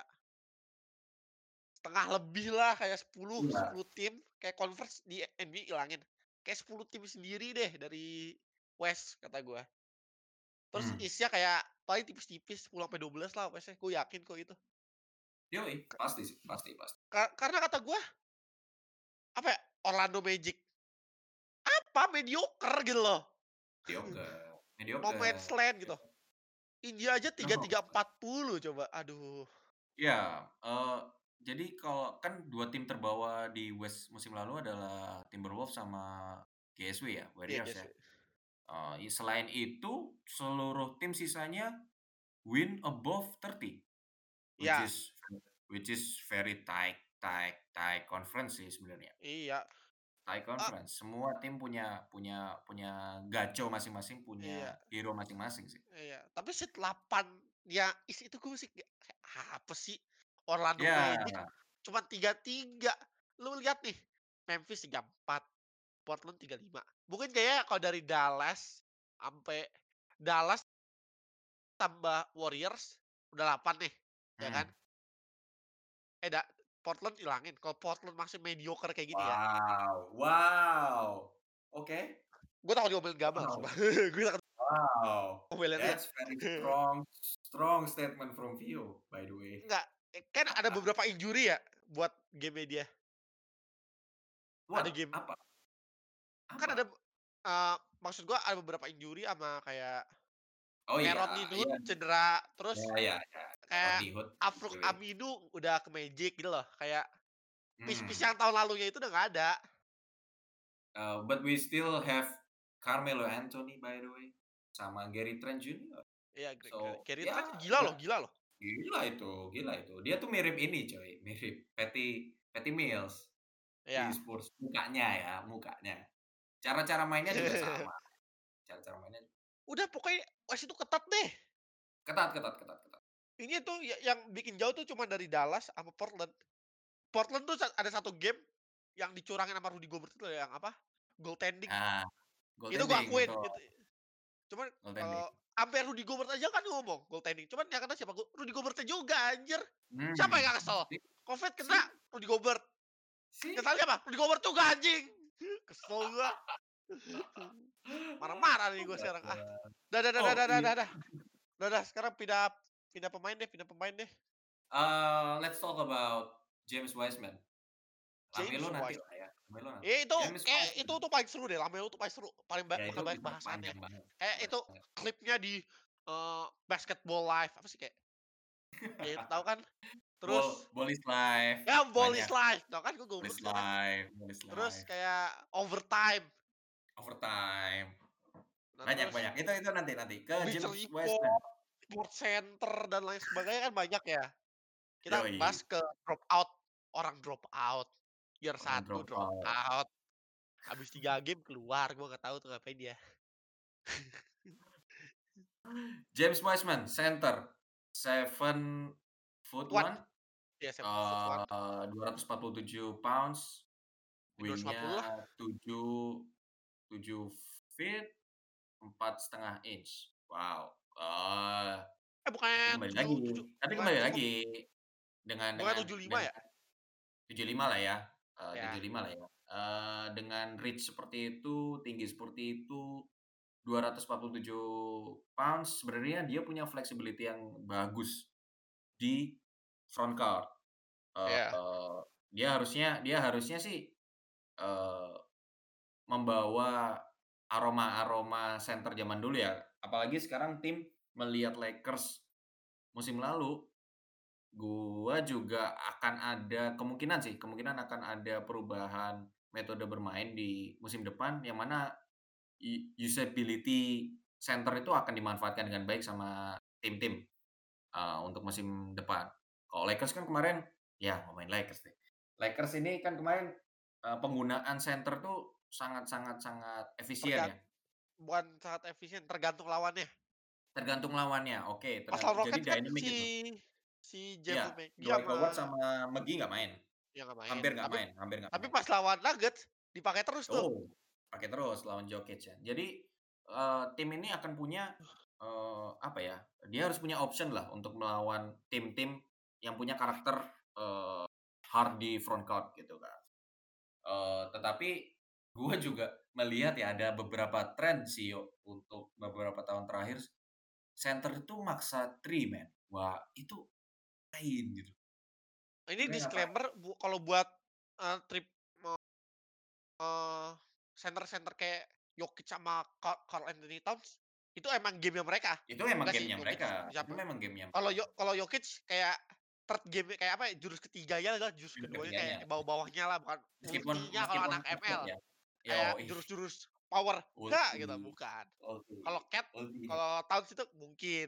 setengah lebih lah, kayak sepuluh iya, sepuluh tim, kayak conference di N B A ilangin. Kayak sepuluh tim sendiri deh dari West, kata gue. Terus mmm, isinya kayak paling tipis-tipis sepuluh sampai dua belas lah West-nya, gue yakin kok itu. yoi, pasti sih, pasti pasti. Ka karena kata gue, apa ya, Orlando Magic, apa, mediocre gitu loh. Mediocre No man's mediocre. land gitu. India aja tiga No. tiga empat puluh coba, aduh. Ya, eee, jadi kalau kan dua tim terbawa di West musim lalu adalah Timberwolves sama G S W ya, Iya Warriors ya. guys, Eee, selain itu seluruh tim sisanya win above tiga puluh, which iya is which is very tight tight tight conference sih sebenarnya. iya, Tight ah, conference, semua tim punya punya punya gaco masing-masing, punya iya hero masing-masing sih. iya. Tapi seat delapan ya is itu gue masih kayak kayak apa sih, Orlando Ya, Magic cuma tiga tiga. Lu lihat nih, Memphis tiga empat, Portland tiga lima. Mungkin kayaknya kalau dari Dallas sampai Dallas tambah Warriors udah delapan nih, ya kan? mhm. Eh, da Portland ilangin, kalau Portland masih mediocre kayak gini ya, Wow wow, oke. gue takut diomelin Gamal Wow. sumpah. Gue takut Wow, diomelin dia. that's very strong strong statement from you, by the way. Enggak, eh, kan ada beberapa injury ya buat game-nya dia. Ada What? game Apa kan ada, apa? eee, maksud gua ada beberapa injury sama kayak Oh kayak iya, Rodney Hood iya, cedera, ya terus ya ya, kayak Rodney Hood, Al-Farouq W. Aminu udah ke Magic gitu loh, kayak piece-piece Hmm, yang tahun lalunya itu udah nggak ada. eee, but we still have Carmelo Anthony, by the way, sama Gary Trent Junior Iya, Gre Gre So, Gary ya Trent gila ya loh gila loh. gila itu gila itu. Dia tuh mirip ini coy, mirip Patty Patty Mills di Iya. Spurs, mukanya ya, mukanya. Cara-cara mainnya juga sama, cara-cara mainnya Udah pokoknya West itu ketat deh. ketat ketat ketat ketat. Ini tuh ya yang bikin jauh tuh cuma dari Dallas sama Portland. Portland tuh sa ada satu game yang dicurangin sama Rudy Gobert itu yang apa, goaltending. Nah, Itu gua goaltending, akuin, betul, itu cuman kalau goaltending. Sampai Rudy Gobert aja kan ngomong goaltending, cuman yang kena siapa? Gu Rudy Gobert-nya juga anjir. Siapa yang Hmm, nggak kesel? sip Covid kena sip Rudy Gobert, sip. ngeselnya apa? Rudy Gobert juga anjing. Kesel gua. Marah-marah nih gua sekarang, ah. Dah dah dah dah Oh, dah dah iya. dah dah. Udah dah sekarang pindah pindah pemain deh pindah pemain deh. Uh, let's talk about James Wiseman. James Lamelo nanti Wise lah ya, Lamelo nanti. itu James kayak itu Wiseman, tuh paling seru deh, Lamelo tuh paling seru, paling ba ya itu bakal banyak itu bahasannya. panjang banget, Kayak itu banget. klipnya di, eee, Basketball Live apa sih kayak ya itu tahu kan? Ball Terus Ball is Life, ya Ball is banyak. Life, tahu kan gua Ball goblok is sekarang. Life Ball is Terus Life, kayak Overtime. Overtime, Nah banyak terus banyak. Itu itu nanti nanti. Ke Bleach James Wiseman. Report, Sports Center dan lain sebagainya kan banyak ya. Kita Yoi, bahas ke drop out, orang drop out, year orang satu drop drop out. out, habis tiga game keluar, gua nggak tahu tuh ngapain dia. James Wiseman, center, seven foot One, one, ya seven foot one, eee, dua ratus empat puluh tujuh pounds, ya dua ratus lima puluh wing-nya lah. tujuh tujuh feet, empat setengah inch. Wow, eee, Eh tapi bukannya kembali tujuh lagi tujuh tapi bukannya kembali tujuh lagi dengan bukannya dengan tujuh lima dengan ya? tujuh lima lah ya, eee, Ya, tujuh lima lah ya, eee, dengan reach seperti itu, tinggi seperti itu, dua ratus empat puluh tujuh pounds, sebenarnya dia punya flexibility yang bagus di front court. ya, Eee, dia harusnya dia harusnya sih, eee, membawa aroma-aroma center zaman dulu ya, apalagi sekarang tim melihat Lakers musim lalu, gua juga akan ada kemungkinan sih, kemungkinan akan ada perubahan metode bermain di musim depan, yang mana u usability center itu akan dimanfaatkan dengan baik sama tim-tim, eee, untuk musim depan. Kalau Lakers kan kemarin ya ngomongin Lakers deh. Lakers ini kan kemarin, eee, penggunaan center tuh sangat sangat sangat efisien tergan ya, bukan sangat efisien, tergantung lawannya. tergantung lawannya, oke, Pas tergan lawan jadi Rockets kan dynamic si gitu. si Iya, Javel McGee Dwight sama Howard sama McGee nggak main, ya nggak main, hampir nggak tapi main hampir nggak tapi main. pas lawan Nuggets dipakai terus tuh. Oh, pakai terus lawan Jokic ya. Jadi, eee, tim ini akan punya, eee, apa ya, dia harus punya option lah untuk melawan tim-tim yang punya karakter, eee, hard di front court gitu kan. Eee, tetapi gue juga melihat ya ada beberapa tren sih yo untuk beberapa tahun terakhir, center itu maksa three man. Wah, itu ngapain gitu, Ini sebenarnya ngapain? disclaimer bu kalau buat, eee, trip Eee, center-center kayak Jokic sama Ka Karl Anthony Towns, itu emang game-nya mereka. Itu emang Enggak sih game-nya Jokic mereka, itu siapa memang game-nya kalau mereka. Yo kalau Jokic kayak third game kayak apa ya, jurus ketiganya lah, jurus Jurus keduanya kayak ketiganya. bawah-bawahnya lah, bukan Meskipun ultinya kalau meskipun anak cepet M L. ya. Kayak Yoi, jurus-jurus power, enggak ulti gitu, bukan. ulti Kalau Cat ulti. kalau Towns itu mungkin.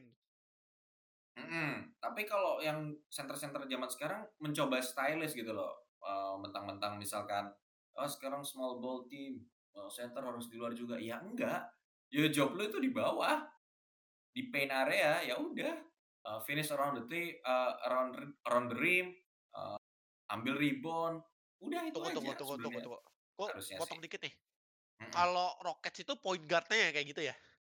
Mhm, tapi kalau yang center-center zaman sekarang mencoba stylish gitu loh, eee, mentang-mentang misalkan, "Oh sekarang small ball team, eee, center harus di luar juga." Ya enggak, ya job lu itu di bawah, di paint area, ya udah, eee, finish around the ti eee, around ri around the rim, eee, ambil rebound, udah itu Tunggu tunggu aja tunggu tunggu sebenarnya tunggu. Kok harusnya sih. potong dikit nih. Mhm. Kalau Rockets itu point guard-nya ya kayak gitu ya?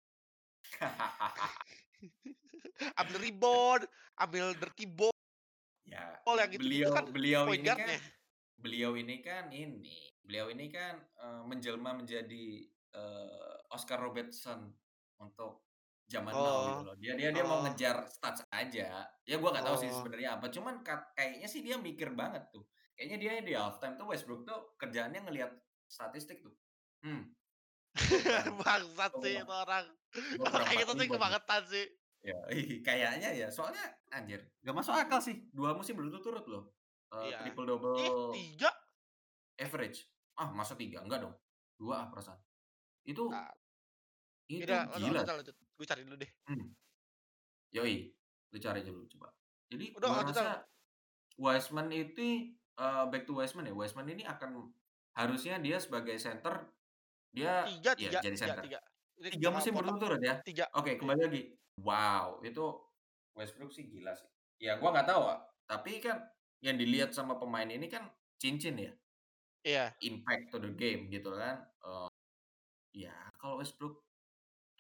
Ambil rebound, ambil dirty ball Ya, yang gitu-gitu kan beliau beliau point ini kan guard-nya. beliau ini kan ini, beliau ini kan, eee, menjelma menjadi, eee, Oscar Robertson untuk zaman now gitu Oh, loh. Dia dia dia mau oh, ngejar stats aja. Ya gua nggak tahu sih oh. sebenarnya apa, cuman kat kayaknya sih dia mikir banget tuh. Kayaknya dia di halftime tuh Westbrook tuh kerjaannya ngelihat statistik tuh. "Hmm, gua kurang Bangsat gua sih kurang itu orang. gua Kalau kurang kayak empat gitu sih rebound nih." kebangetan sih. Ya, kayaknya ya, soalnya anjir, nggak masuk akal sih, dua musim berturut-turut loh, eee, Iya. triple Ih, double tiga. average. Ah, masa tiga? Enggak dong, dua ah perasaan. Itu Ah, ya itu udah gila lanjut sih. lanjut. Gue cari dulu deh. Mhm, yoi, lu cari aja dulu coba. Jadi Udah gua lanjut rasa Wiseman itu, eee, back to Wiseman ya, Wiseman ini akan harusnya dia sebagai center, dia tiga ya tiga jadi tiga center. tiga. Ini, tiga eee, musim potong berturut-turut ya? tiga. Oke, Iya. kembali lagi. Wow, itu Westbrook sih gila sih. Ya gua nggak tahu, ah, tapi kan yang dilihat sama pemain ini kan cincin ya, Iya. impact to the game gitu kan, eee, ya kalau Westbrook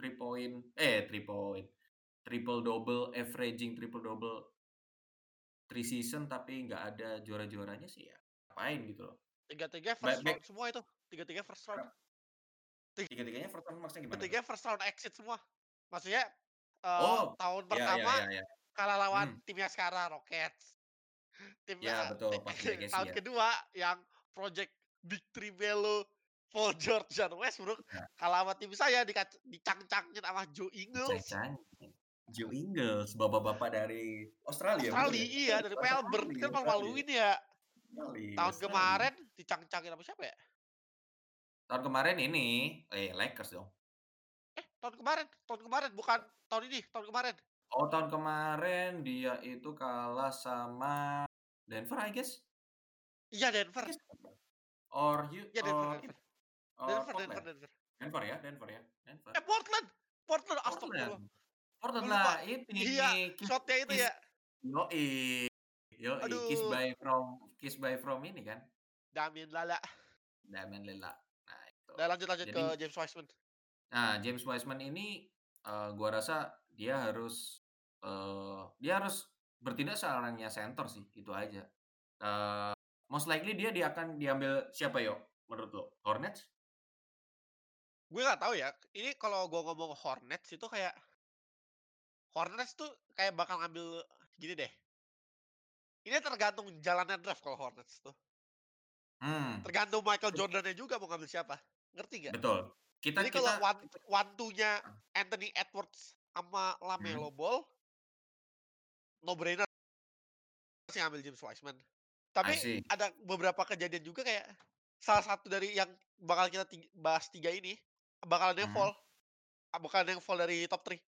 three point eh, three point, triple double, averaging triple double three season tapi nggak ada juara-juaranya sih ya ngapain gitu loh. Tiga-tiganya Back first back round semua itu, tiga-tiganya first round. Kenapa? Tiga-tiganya first round maksudnya gimana tuh? Tiga-tiganya first round exit semua. Maksudnya, eee, Oh, tahun ya ya pertama ya ya. kalah lawan Hmm. timnya sekarang, Rockets. Tim Ya eee, betul, ti pas legacy tahun ya. kedua yang project Big Three Melo, Paul George, dan Westbrook Iya. kalah sama tim saya dikat dicang-cangin sama Joe Ingles. Diceng-cengin. Joe Ingles, bapak-bapak dari Australia betul Australia, ya? iya dari Melbourne, kan Australia. malu-maluin ya. Australia Tahun Australia. kemarin dicang-cangin sama siapa ya? Tahun kemarin ini, eh, Lakers dong. Eh, tahun kemarin tahun kemarin bukan tahun ini, tahun kemarin. Oh, tahun kemarin dia itu kalah sama Denver, I guess. Iya, I Denver. guess Denver or Hu Iya, Denver or Denver. ini, or Denver Denver Portland. Denver. Denver ya Denver ya, Denver. Eh, Portland Portland, Portland. astagfirullah. Portland Gue lah lupa. Iya, ini Kiss shot-nya itu Kiss ya. yoi yoi, Kiss Aduh. by from Kiss by from ini kan. Damian Lillard. Damian Lillard. Nah itu. Udah lanjut lanjut ke Jadi James Wiseman. Nah, James Wiseman ini, eee, gua rasa dia harus, eee, dia harus bertindak selayaknya center sih, itu aja. Eee, most likely dia dia akan diambil siapa yo, menurut lo? Hornets? Gue nggak tahu ya, ini kalau gua ngomong Hornets itu kayak Hornets tuh kayak bakal ngambil gini deh. Ini tergantung jalannya draft kalau Hornets tuh. Mmm. Tergantung Michael Jordan-nya juga mau ngambil siapa, ngerti nggak? Betul. Kita Jadi kalau kita one kita one two-nya heeh. Anthony Edwards sama Mhm. LaMelo Ball no brainer sih ngambil James Wiseman. I Tapi see. ada beberapa kejadian juga kayak salah satu dari yang bakal kita ting bahas tiga ini, bakal ada yang Mhm. fall, bakal ada yang fall dari top three.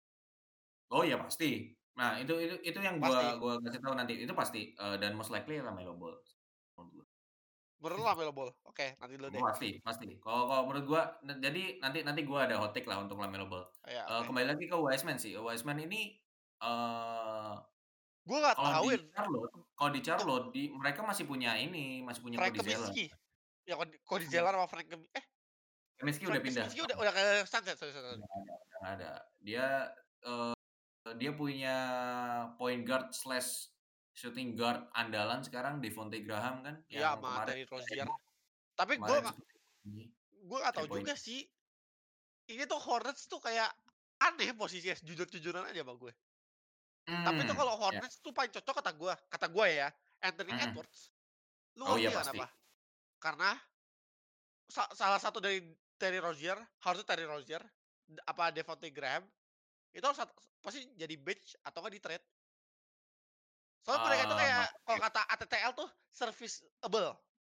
Oh ya pasti. Nah itu itu itu yang gua Pasti. gua kasih tahu nanti, itu pasti, eee, dan most likely LaMelo Ball menurut gua. Menurut lo LaMelo Ball? Oke, nanti dulu deh. Oh pasti pasti. Kalau kalau menurut gua ne jadi nanti nanti gua ada hot take lah untuk LaMelo Ball. Iya, Eee, oke. kembali lagi ke Wiseman sih, Wiseman ini, eee, Gua nggak kalau tahu di ya Charlotte kalau di untuk Charlotte di mereka masih punya ini, masih punya Frank Cody Zeller. Kaminsky. Ya Cody Cody Frank Zeller sama Frank Kami eh, Kaminsky udah Frank pindah Kaminsky udah sekarang. udah ke Suns ya? Sorry sorry sorry. Udah nggak ada udah nggak ada. Dia, eee, dia punya point guard slash shooting guard andalan sekarang Devonte Graham kan, Iya, yang sama kemarin Terry bisa Rozier. heboh, Tapi gua kemarin nggak sempet ini gua nggak tahu three point. juga sih. Ini tuh Hornets tuh kayak aneh posisinya, jujur-jujuran aja sama gue. Tapi tuh Mmm, kalau ya. Hornets tuh paling cocok kata gua, kata gua ya, Anthony Mhm. Edwards. Lu Oh iya ngerti nggak pasti. kenapa? Karena sa salah satu dari Terry Rozier, harusnya Terry Rozier, d apa Devonte Graham, itu harus sat pasti jadi bench atau nggak di-trade. Soalnya mereka itu Eee, kayak kalau oke. kata A T T L tuh serviceable.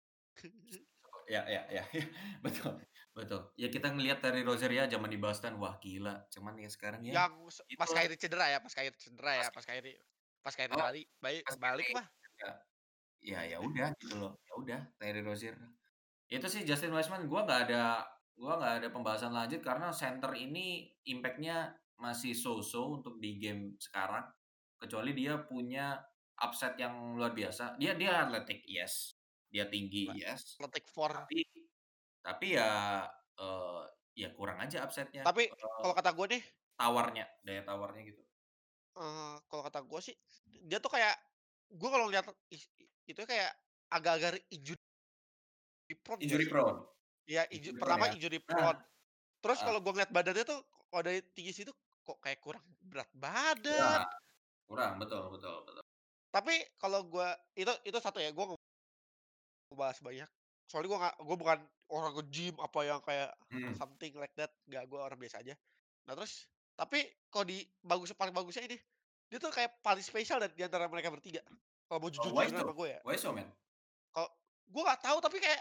Ya ya ya ya, betul betul. Ya kita ngelihat Terry Rozier ya zaman di Boston, wah gila. Cuman ya sekarang ya, Yang se pas itulah Kyrie cedera ya pas Kyrie cedera ya, pasti. pas Kyrie pas Kyrie Oh, balik baik pas balik Kyrie mah ya ya ya udah gitu loh, ya udah Terry Rozier. Itu sih Justin Wiseman gua nggak ada gua nggak ada pembahasan lanjut karena center ini impact-nya masih so-so untuk di game sekarang, kecuali dia punya upside yang luar biasa. Dia dia athletic, yes. Dia tinggi, yes. Celtic four. Tapi tapi ya, eee, ya kurang aja upside-nya, Tapi eee, kalau kata gue nih, tawarnya, daya tawarnya gitu. eee, kalau kata gue sih, dia tuh kayak gue kalau ngeliat is itu kayak agak-agak injury prone nggak Injury sih? prone Iya, inju injury prone pertama ya. injury Nah, prone, terus heeh, kalau gue ngeliat badannya tuh kalau dari tinggi situ kok kayak kurang berat badan. kurang kurang, betul betul betul. Tapi kalau gue itu itu satu ya, gue nggak mau bahas banyak. Soalnya gue nggak gue bukan orang nge-gym apa yang kayak Mhm. something like that, nggak, gue orang biasa aja. Nah terus, tapi kalau di bagus paling bagusnya ini, dia tuh kayak paling spesial dan di antara mereka bertiga. Kalau mau Oh, jujur-jujuran Waiso sama gue ya. Waiso man. Kalau gue nggak tahu tapi kayak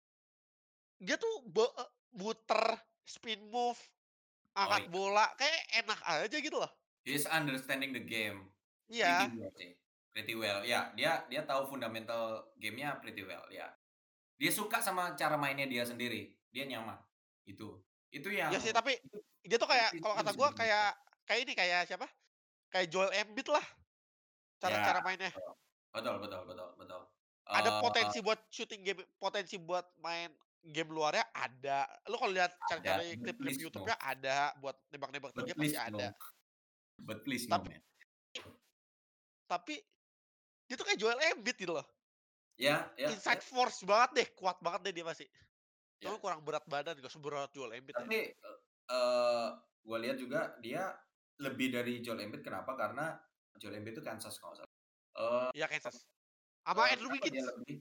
dia tuh be e muter, spin move, Oh angkat iya, bola, kayak enak aja gitu loh. he is understanding the game pretty Iya, well sih, pretty well. Ya, dia dia tahu fundamental game-nya pretty well, ya. Dia suka sama cara mainnya dia sendiri, dia nyaman, itu. Itu iya yang sih tapi itu dia tuh itu kayak kalau prinsipnya kata bisa gue dibilang kayak kayak ini, kayak siapa, kayak Joel Embiid lah ya, cara-cara mainnya. betul. Betul betul betul betul. Ada Eee, potensi buat shooting game, potensi buat main game luarnya ada. Lu kalau lihat Ada, cari-cari but klip-klip please no. YouTube-nya ada, buat nembak-nembak tiga But pasti please ada. no. But please no, Tapi man. tapi dia tuh kayak Joel Embiid gitu loh. Ya ya Inside ya, force banget deh, kuat banget deh dia pasti. ya. Cuma kurang berat badan, gak seberat Joel Embiid ya. Tapi, eee eee, gua lihat juga dia lebih dari Joel Embiid kenapa, karena Joel Embiid itu Kansas kalau nggak salah. Eee Iya Kansas. Sama eee, Andrew kenapa dia Wiggins. lebih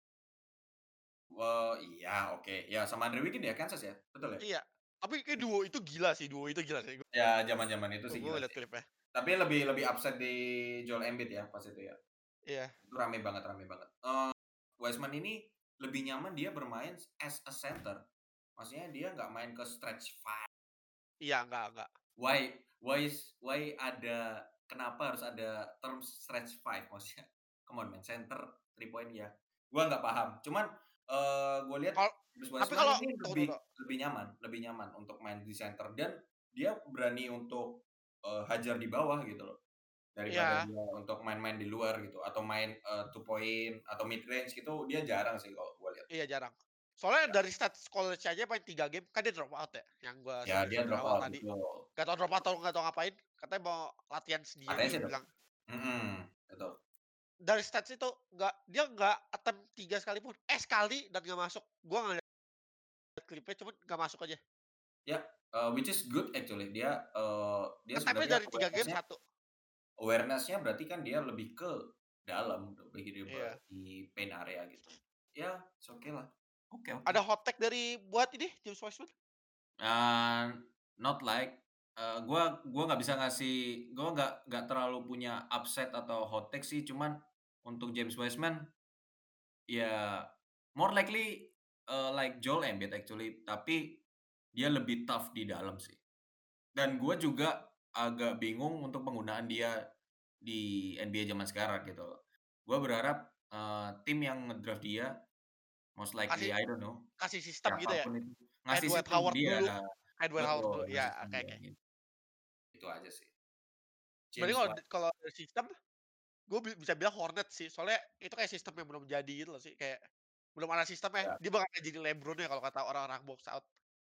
eee, iya oke, ya sama Andrew Wiggins ya Kansas ya? Betul ya? Iya. Tapi kayak duo itu gila sih, duo itu gila sih. Ya zaman-zaman itu Gue sih gue gila ngeliat sih. klipnya. Tapi lebih lebih upset di Joel Embiid ya pas itu ya? Iya. Itu rame banget rame banget. Eee, Wiseman ini lebih nyaman dia bermain as a center. Maksudnya dia nggak main ke stretch five. Iya, enggak enggak. Why why is why ada kenapa harus ada term stretch five maksudnya? Come on man, center three point ya. Gua nggak paham. Cuman, eee, gua lihat Kal James tapi Wiseman kalau ini tunggu lebih dulu. lebih nyaman lebih nyaman untuk main di center dan dia berani untuk, eee, hajar di bawah gitu loh. Daripada Iya, dia untuk main-main di luar gitu atau main, eee, two point atau mid range gitu dia jarang sih kalau gua lihat. iya jarang. Soalnya Ya dari stats college aja main tiga game, kan dia drop out ya, yang gua ya dia sebutin di drop awal out, tadi. betul. Gak tau drop out atau nggak tau ngapain, katanya mau latihan Katanya sendiri sih drop bilang. mhm, betul. Dari stats itu nggak dia nggak attempt tiga sekalipun, eh sekali dan nggak masuk. Gua ngeliat klipnya cuman nggak masuk aja. Ya, eee, which is good actually. Dia, eee, dia Nge-tap-nya sebenarnya dari tiga game awareness-nya satu. awareness-nya berarti kan dia lebih ke dalam, lebih dribble Iya. di paint area gitu. Ya, it's okay lah. Oke oke. Ada hot take dari buat ini James Wiseman? Eee, not like, eee, gua gua nggak bisa ngasih gua nggak nggak terlalu punya upset atau hot take sih, cuman untuk James Wiseman, ya more likely, eee, like Joel Embiid actually, tapi dia lebih tough di dalam sih. Dan gue juga agak bingung untuk penggunaan dia di N B A zaman sekarang gitu loh. Gue berharap, eee, tim yang nge-draft dia most likely Kasih I don't know, kasih sistem gitu siapa ya? pun itu, Kayak ngasih Dwight sistem ke Howard dia. dulu kayak Dwight Howard dulu, Betul, ngasih ya sistem oke dia, oke. gitu. Itu aja sih. Berarti James kalau White. kalau dari sistem, gue bi bisa bilang Hornets sih, soalnya itu kayak sistem yang belum jadi gitu loh sih, kayak belum ada sistemnya, Ya. dia bakal kayak jadi LeBron-nya kalau kata orang-orang box out.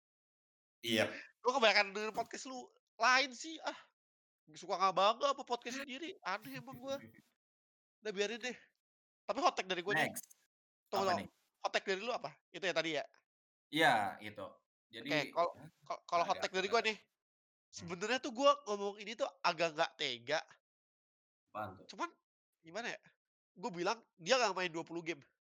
Iya. Gue kebanyakan denger podcast lu lain sih, ah, suka nggak bangga sama podcast sendiri, aneh emang gue. Udah biarin deh. Tapi hot take dari gue nih, Next. tunggu Apa tunggu, nih? hot take dari lu apa? Itu ya tadi ya? Iya, itu. Jadi, Oke, kalau ya ka kalau nggak hot ada take dari gue apa-apa. nih, Hmm, sebenarnya tuh gue ngomong ini tuh agak nggak tega, apaan tuh? cuman gimana ya, gue bilang dia nggak main dua puluh game,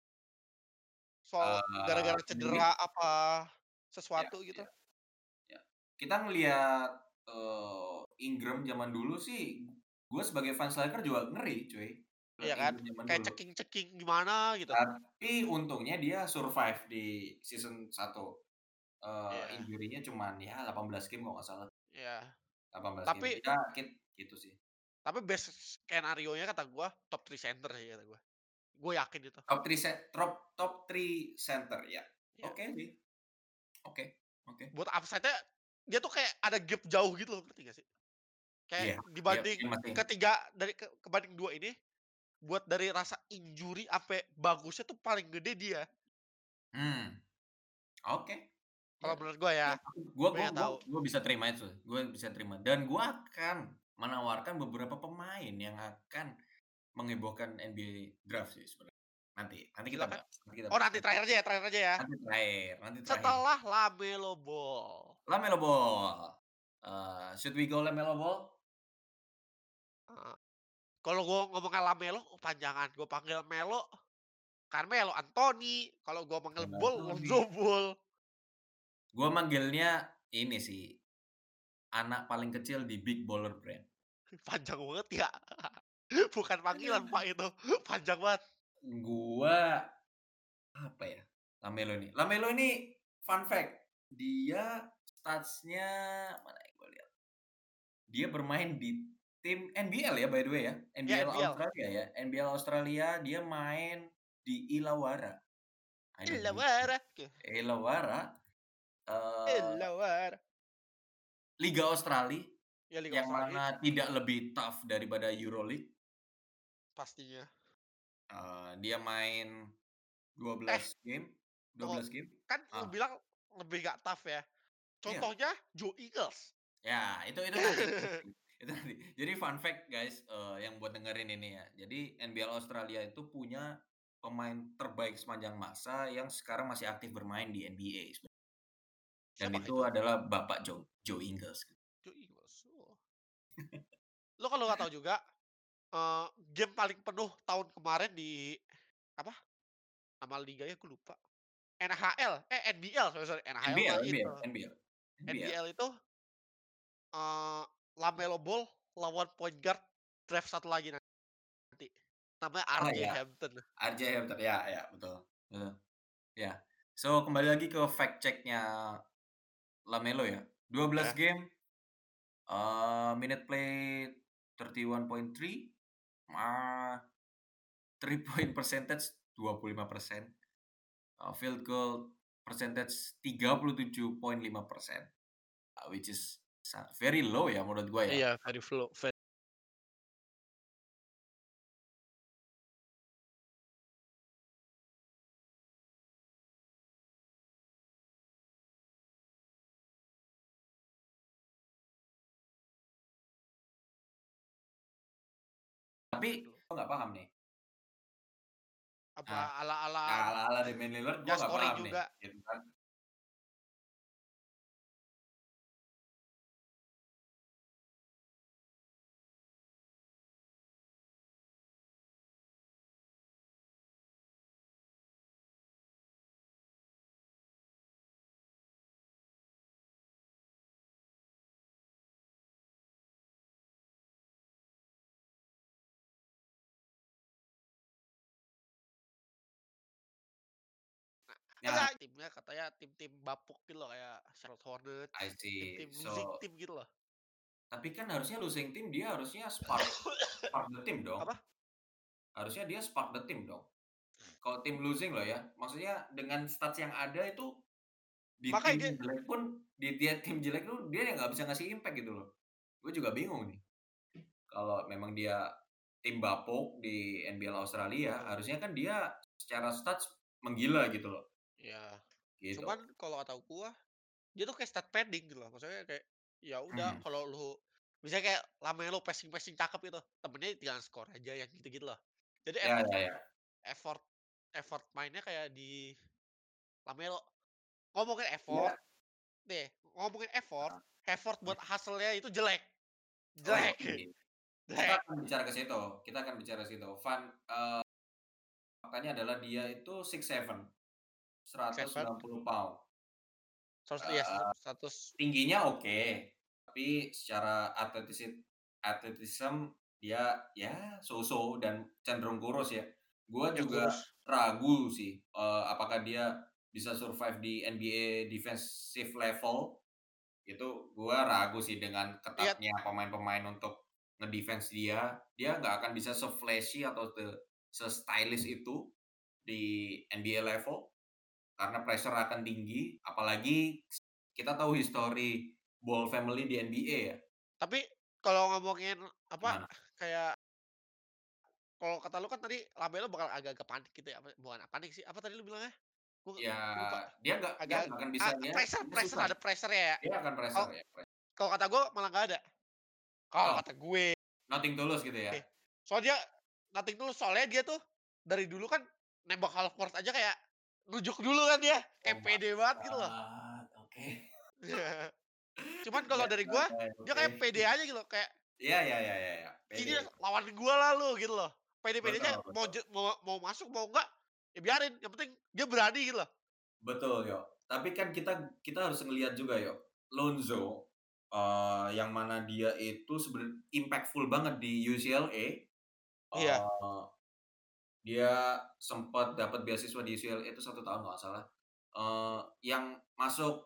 soal Eee, gara-gara Embiid? cedera apa, Ya sesuatu gitu. ya. Ya. Kita ngelihat, eee, Ingram zaman dulu sih, gue sebagai fans Lakers juga ngeri cuy, Iya ngeliat kan? Ingram zaman Kayak dulu. ceking-ceking gimana gitu. Tapi untungnya dia survive di season satu, eee, Iya injury-nya cuman ya delapan belas game kalau nggak salah, iya. delapan belas game. Tapi Ya kit gitu sih. tapi best skenario-nya kata gua top tiga center sih kata gua. Gua yakin itu. Top three set trop top three center ya. Iya. Oke sih, oke oke. Buat upside-nya dia tuh kayak ada gap jauh gitu loh, ngerti gak sih? Kayak Iya iya, dibanding mungkin masih ketiga dari ke kebanding dua ini, buat dari rasa injury ampe bagusnya tuh paling gede dia, mmm, oke. Ya kalau menurut gua ya. ya, aku gua Tapi gua nggak gua tahu. gua bisa terima itu, gua bisa terima dan gua akan menawarkan beberapa pemain yang akan menghebohkan N B A draft sih sebenarnya. Nanti nanti kita Silakan. bahas nanti kita Oh bahas, nanti nanti terakhir aja ya terakhir aja ya. nanti terakhir nanti terakhir. Setelah LaMelo Ball. LaMelo Ball, eee, should we go LaMelo Ball? Heeh. Kalau gua ngomongnya LaMelo kepanjangan, gua panggil Melo, Carmelo Anthony, kalau gua panggil Carmelo Ball, Lonzo Anthony. Ball. Gua manggilnya ini sih, anak paling kecil di Big Baller Brand. Panjang banget ya. Bukan panggilan Pak itu, panjang banget. Gua apa ya, LaMelo ini LaMelo ini fun fact, dia stats-nya mana ya gua lihat, dia bermain di tim N B L ya by the way ya, Ya N B L N B L. Australia ya, N B L Australia dia main di Illawarra. I don't know which one. Illawarra, oke. Illawarra, eee, Illawarra. Liga Australia Ya Liga yang Australia mana tidak lebih tough daripada Euroleague. pastinya. Eee, dia main dua Eh, belas game, dua Tuh, belas game? kan lu Ah. bilang lebih nggak tough ya. Iya. Contohnya Joe Ingles. Ya, itu itu tadi itu tadi itu tadi. Jadi fun fact guys, eee, yang buat dengerin ini ya. Jadi N B L Australia itu punya pemain terbaik sepanjang masa yang sekarang masih aktif bermain di N B A sebe dan Siapakah itu itu? adalah Bapak Joe Joe Ingles. Joe Ingles, oh. Lu kalau nggak tahu juga, eee, game paling penuh tahun kemarin di apa, nama liganya aku lupa. N H L, eh N B L, sorry sorry, N H L mah NBL itu. NBL NBL NBL. N B L itu, eee, LaMelo Ball lawan point guard draft satu lagi nanti. Namanya Oh R J ya, Hampton. R J Hampton, ya ya, betul betul. Ya. So, kembali lagi ke fact check-nya LaMelo ya. dua belas Ya. game, eee, minute played thirty one point three, ma three point percentage dua puluh lima persen, eee, field goal percentage tiga puluh tujuh koma lima persen, eee, which is sa very low ya menurut gua ya. Iya, very flow ve Tapi gitu. gua nggak paham nih. Nah, Apa ala-ala ala-ala Damian Lillard gua ya nggak scoring paham nih, juga. gitu kan. Ya, Enggak, timnya katanya tim-tim bapuk gitu loh, kayak Charlotte Hornets, I see. tim-tim losing So team gitu loh. tapi kan harusnya losing team dia harusnya spark spark the team dong. Apa? Harusnya dia spark the team dong. Kalau tim losing loh ya, maksudnya dengan stats yang ada itu, di Makanya tim dia jelek pun, di dia tim jelek tuh dia nggak bisa ngasih impact gitu loh. Gue juga bingung nih. Kalau memang dia tim bapuk di N B L Australia, heeh, harusnya kan dia secara stats menggila gitu loh, iya. gitu. Cuman kalau kata gua, dia tuh kayak stat padding gitu loh. Maksudnya kayak, ya udah Mhm. kalau lu misalnya kayak Lamelo passing-passing cakep itu, temennya tinggal skor aja yang gitu-gitu loh. Jadi Ya effort ya ya. effort effort mainnya kayak di Lamelo. Ngomongin effort, Ya, nih, ngomongin effort, heeh. effort Mhm. buat hustle-nya itu jelek, Oh ya, jelek, oke. Kita jelek. akan bicara ke situ kita akan bicara ke situ. Fun, eee, faktanya adalah dia itu six seven, seratus Seven, sembilan puluh pound. seratus iya Eee, seratus tingginya oke, tapi secara athletici athleticism dia ya so-so dan cenderung kurus ya. Gua ya juga kurus. ragu sih, eee, apakah dia bisa survive di N B A defensive level, itu gua ragu sih dengan Iya, ketatnya pemain-pemain untuk ngedefense dia. Dia nggak akan bisa se-flashy atau se se-stylish itu di N B A level. Karena pressure akan tinggi, apalagi kita tahu histori Ball family di N B A ya. tapi kalau ngomongin apa, Gimana? kayak kalau kata lu kan tadi Lamelo bakal agak-agak panik gitu ya, apa bukan panik sih, apa tadi lu bilangnya? Gua Ya, gua lupa. dia nggak dia Agak nggak akan bisa ah, dia pressure dia pressure susah. ada pressure-nya ya. Dia akan Kalau pressure ya, pressure. kalau kata gua malah nggak ada. Kalau Oh, kata gue, nothing tulus gitu ya? soalnya nothing tulus, soalnya dia tuh dari dulu kan nembak half court aja kayak nunjuk dulu kan dia, Oh kayak my pede banget gitu loh. god, oke. Cuman kalau Ya, dari gua, oke dia oke. kayak pede aja gitu, kayak, Iya iya iya iya iya, "Ini pede. lawan gua lah lu," gitu loh. Pede-pedenya Betul mau betul. je mau mau masuk mau enggak, ya biarin, yang penting dia berani gitu loh. Betul, yo. Tapi kan kita kita harus ngelihat juga yo, Lonzo, eee, yang mana dia itu sebenarnya impactful banget di U C L A, Iya, eee dia sempat dapat beasiswa di U C L A itu satu tahun kalau nggak salah, eee, yang masuk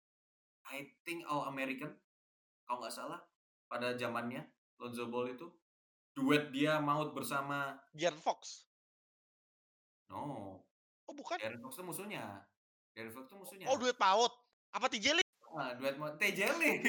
I think All American kalau nggak salah pada zamannya Lonzo Ball itu, duet dia maut bersama De'Aaron Fox. no, Oh bukan? De'Aaron Fox itu musuhnya De'Aaron Fox itu Oh musuhnya. duet PAUD. Apa T J League? Heeh, duet maut T J Leaf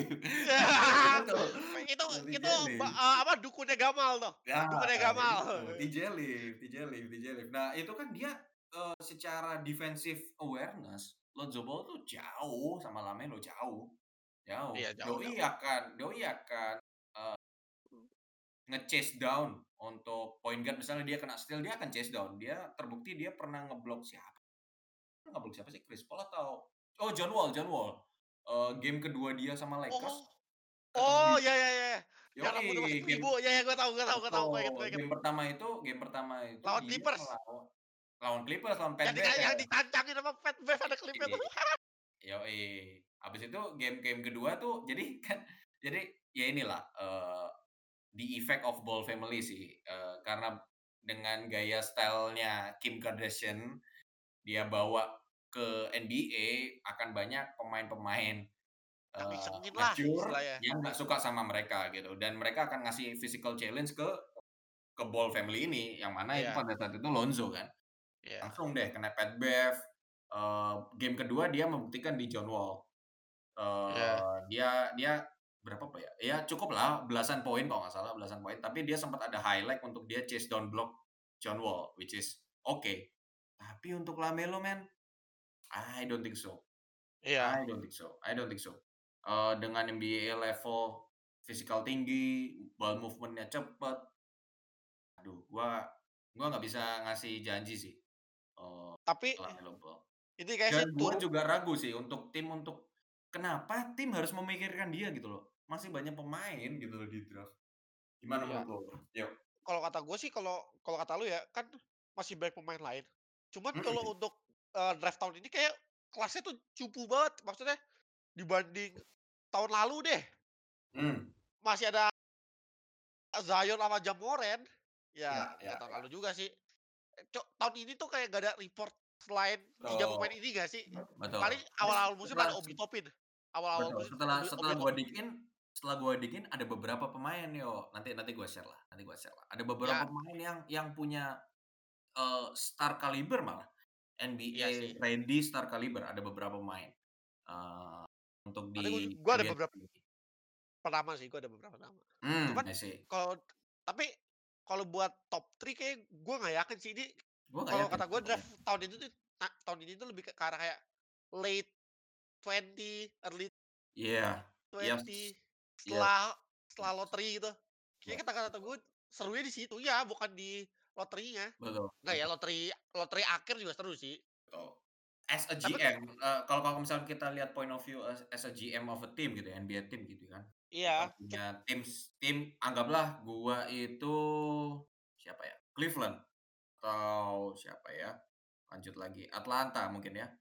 betul, Itu T J itu ba Leaf. eee, apa, dukunnya Gamal tuh, Ya, dukunnya Gamal. itu, T J Leaf T J Leaf T J Leaf. Nah, itu kan dia eee, secara defensive awareness, Lonzo Ball tuh jauh sama LaMelo, jauh, jauh. Iya, jauh Doi jauh. akan doi akan, eee, nge-chase down untuk point guard misalnya dia kena steal, dia akan chase down. Dia terbukti dia pernah ngeblok siapa ngeblok siapa sih, Chris Paul atau oh John Wall John Wall. Eee, game kedua dia sama Oh Lakers, ketemu oh, di ya ya ya, yang yoi, rambutnya masih game keribu, ya ya, gue tahu gue tahu gue tahu, gue inget gue betul, inget. game pertama itu game pertama itu Lawan dia Clippers, ngelawan lawan Clippers, lawan Pat yang di Bev. yang ditancangin sama Pat Bev ada klipnya tuh. Yoi. Habis itu game-game kedua tuh jadi kan jadi ya inilah, eee, the effect of Ball family sih, eee, karena dengan gaya style-nya Kim Kardashian, dia bawa ke N B A akan banyak pemain-pemain, Yang eee, ngisengin lah mature istilahnya. yang nggak suka sama mereka gitu, dan mereka akan ngasih physical challenge ke ke Ball family ini, yang mana itu Iya pada saat itu Lonzo kan. iya Langsung deh kena Pat Bev, eee, game kedua dia membuktikan di John Wall. iya, Eee, dia dia berapa apa ya, ya cukuplah belasan poin kalau nggak salah, belasan poin, tapi dia sempat ada highlight untuk dia chase down block John Wall, which is oke. Okay. Tapi untuk LaMelo man, I don't think so iya. I don't think so I don't think so. Eee, dengan N B A level fisikal tinggi, ball movement-nya cepet, aduh gua gua nggak bisa ngasih janji sih, eee, Tapi LaMelo Ball. ini kayak Dan sih gua tur juga ragu sih untuk tim untuk kenapa tim harus memikirkan dia gitu loh. Masih banyak pemain gitu loh di draft. Gimana ya, menurut lo? Yo. kalau kata gue sih, kalau kalau kata lu ya, kan masih banyak pemain lain. Cuman kalau Mhm, untuk, eee, draft tahun ini kayak kelasnya tuh cupu banget. Maksudnya dibanding tahun lalu deh, mmm, masih ada Zion sama Ja Morant. Ya ya ya nggak tahun ya, lalu juga sih. Eh, Cok, tahun ini tuh kayak gak ada report selain tiga betul, pemain ini gak sih? betul. Paling Ini awal-awal musim setelah ada Obi Toppin. Awal-awal betul, musim setelah Obi setelah Obi gua Toppin. diggin setelah gua diggin ada beberapa pemain yo, nanti nanti gua share lah nanti gua share lah. Ada beberapa Ya, pemain yang yang punya, eee, star caliber malah, iya N B A sih. ready star caliber, ada beberapa pemain, eee, untuk Nanti gue di gue ada N B A beberapa ini. nama sih, gue ada beberapa nama. Mmm, Cuman I see. kalau tapi kalau buat top tiga kayak gue nggak yakin sih ini. Gua nggak Kalau yakin kata sih gue pokoknya. draft tahun itu tuh ta tahun ini tuh lebih ke arah kayak late twenty, early Iya. twenty, Yes. Yes. setelah setelah Yes. loteri gitu. Kayaknya Yes, kata-kata betul gue serunya di situ, ya bukan di loterinya. betul Enggak ya, betul loteri loteri akhir juga seru sih. betul. As a Tapi ke G M, eee, kalau kalau misalnya kita lihat point of view as as a G M of a team gitu ya, N B A team gitu kan. Kita iya, kit punya tims tim anggaplah gua itu siapa ya, Cleveland atau siapa ya, lanjut lagi Atlanta mungkin ya.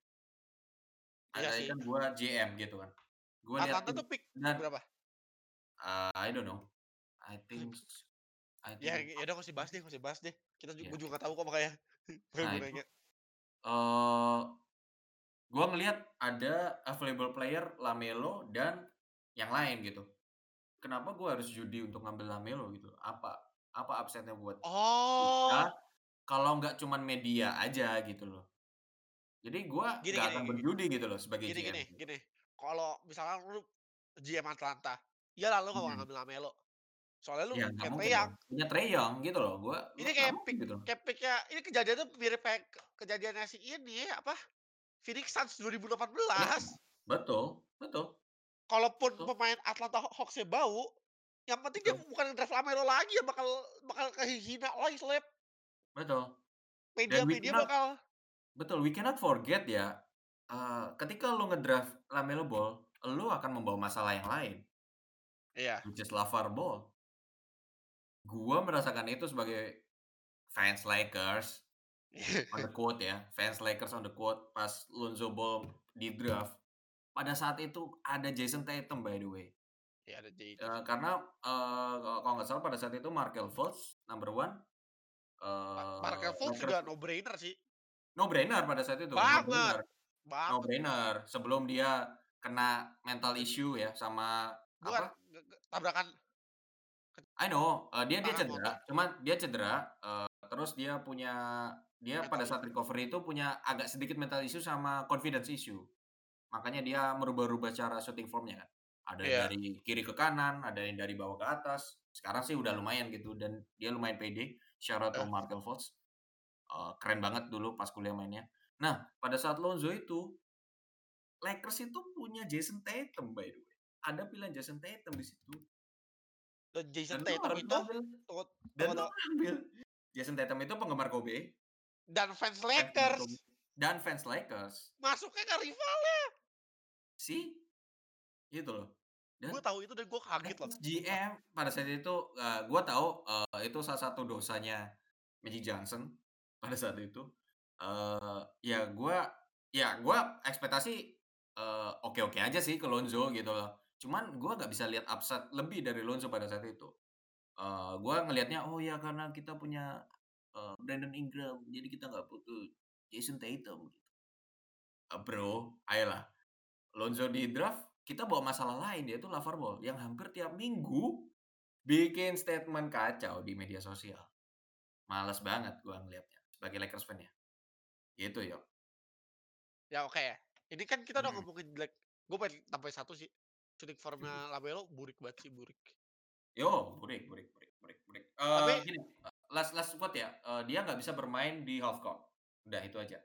iya Ada sih. kan gua G M gitu kan. Gua lihat Atlanta tim tuh pick dan, berapa? eee, I don't know, I think I Ya think ya udah nggak usah bahas deh nggak usah bahas deh. Kita ju ya gue juga nggak gitu. tahu kok makanya makanya Nah gue itu, nanya. eee gua ngelihat ada available player LaMelo dan yang lain gitu. Kenapa gua harus judi untuk ngambil LaMelo gitu? Apa apa upside-nya buat kita Oh, kalau nggak cuman media aja gitu loh. Jadi gua gini nggak gini akan gini berjudi gitu loh sebagai gini G M gini gitu. gini. Kalau misalkan lu G M Atlanta, ya lah lu nggak bakal Mhm. ngambil Lamelo. Soalnya lu Ya nggak punya Trae mungkin Young. dong. Punya Trae Young gitu loh. Gua Ini gua nggak kayak mungkin pick gitu. kayak pick-nya ini kejadiannya mirip kayak ke kejadiannya si ini, apa, Phoenix Suns dua ribu delapan Iya, belas. betul betul Kalaupun betul pemain Atlanta Hawks-nya bau, yang penting dia betul bukan draft Lamelo lagi yang bakal bakal kehina lagi seleb. betul. Dan we Media-media cannot bakal betul, we cannot forget ya, eee, ketika lu ngedraft LaMelo Ball, lu akan membawa masalah yang lain, iya. which is LaVar Ball. Gua merasakan itu sebagai fans Lakers, on the quote ya, fans Lakers on the quote pas Lonzo Ball di-draft. Pada saat itu ada Jason Tatum by the way, Iya, ada J T. eee, karena, eee, kalau nggak salah pada saat itu Markelle Fultz number one, Ma eee, Markelle Fultz Lakers juga no brainer sih. no brainer pada saat itu, no Banget brainer no banget. brainer. Sebelum dia kena mental Ke issue ya sama bukan, apa, ge ge tabrakan I know, eee, dia dia kecelakaan cedera, motor. cuman dia cedera, eee, terus dia punya dia pada Mental saat issue. recovery itu punya agak sedikit mental issue sama confidence issue. Makanya dia merubah-rubah cara shooting formnya kan. Ada Iya, dari kiri ke kanan, ada yang dari bawah ke atas. Sekarang sih udah lumayan gitu dan dia lumayan pede, shout out to eh, Markelle Fultz. eee, keren banget dulu pas kuliah mainnya. Nah, pada saat Lonzo itu, Lakers itu punya Jason Tatum by the way. Ada pilihan Jason Tatum di situ. Dan Jason Dan lu Tatum harus itu ngambil tunggu dan tunggu lu tunggu, ngambil. Jason Tatum itu penggemar Kobe, dan fans fans-nya Kobe, Lakers, dan fans Lakers. masuknya ke rivalnya. See, gitu loh. Gue Dan tahu itu dan gue kaget loh, Lakers sumpah. G M pada saat itu, eee, gua tahu, eee, itu salah satu dosanya Magic Johnson pada saat itu. Eee, ya gua ya gua ekspektasi, eee, oke-oke aja sih ke Lonzo gitu loh. Cuman gua nggak bisa lihat upside lebih dari Lonzo pada saat itu. Eee, gua ngelihatnya, oh ya karena kita punya, eee, Brandon Ingram, jadi kita nggak butuh Jason Tatum. Eee, Bro, ayolah. Lonzo di draft, kita bawa masalah lain, yaitu LaVar Ball yang hampir tiap minggu bikin statement kacau di media sosial. Males banget gua ngelihatnya sebagai Lakers fan ya. Gitu, Yok. Ya oke ya. Ini kan kita udah Mhm. ngomongin Black. Gue pengen tambahin satu sih. Shooting formnya Lamelo burik banget sih, burik. Yo, burik burik burik burik burik. Eee, Tapi gini, eee, last last quote ya, eee, dia nggak bisa bermain di half court. Udah itu aja.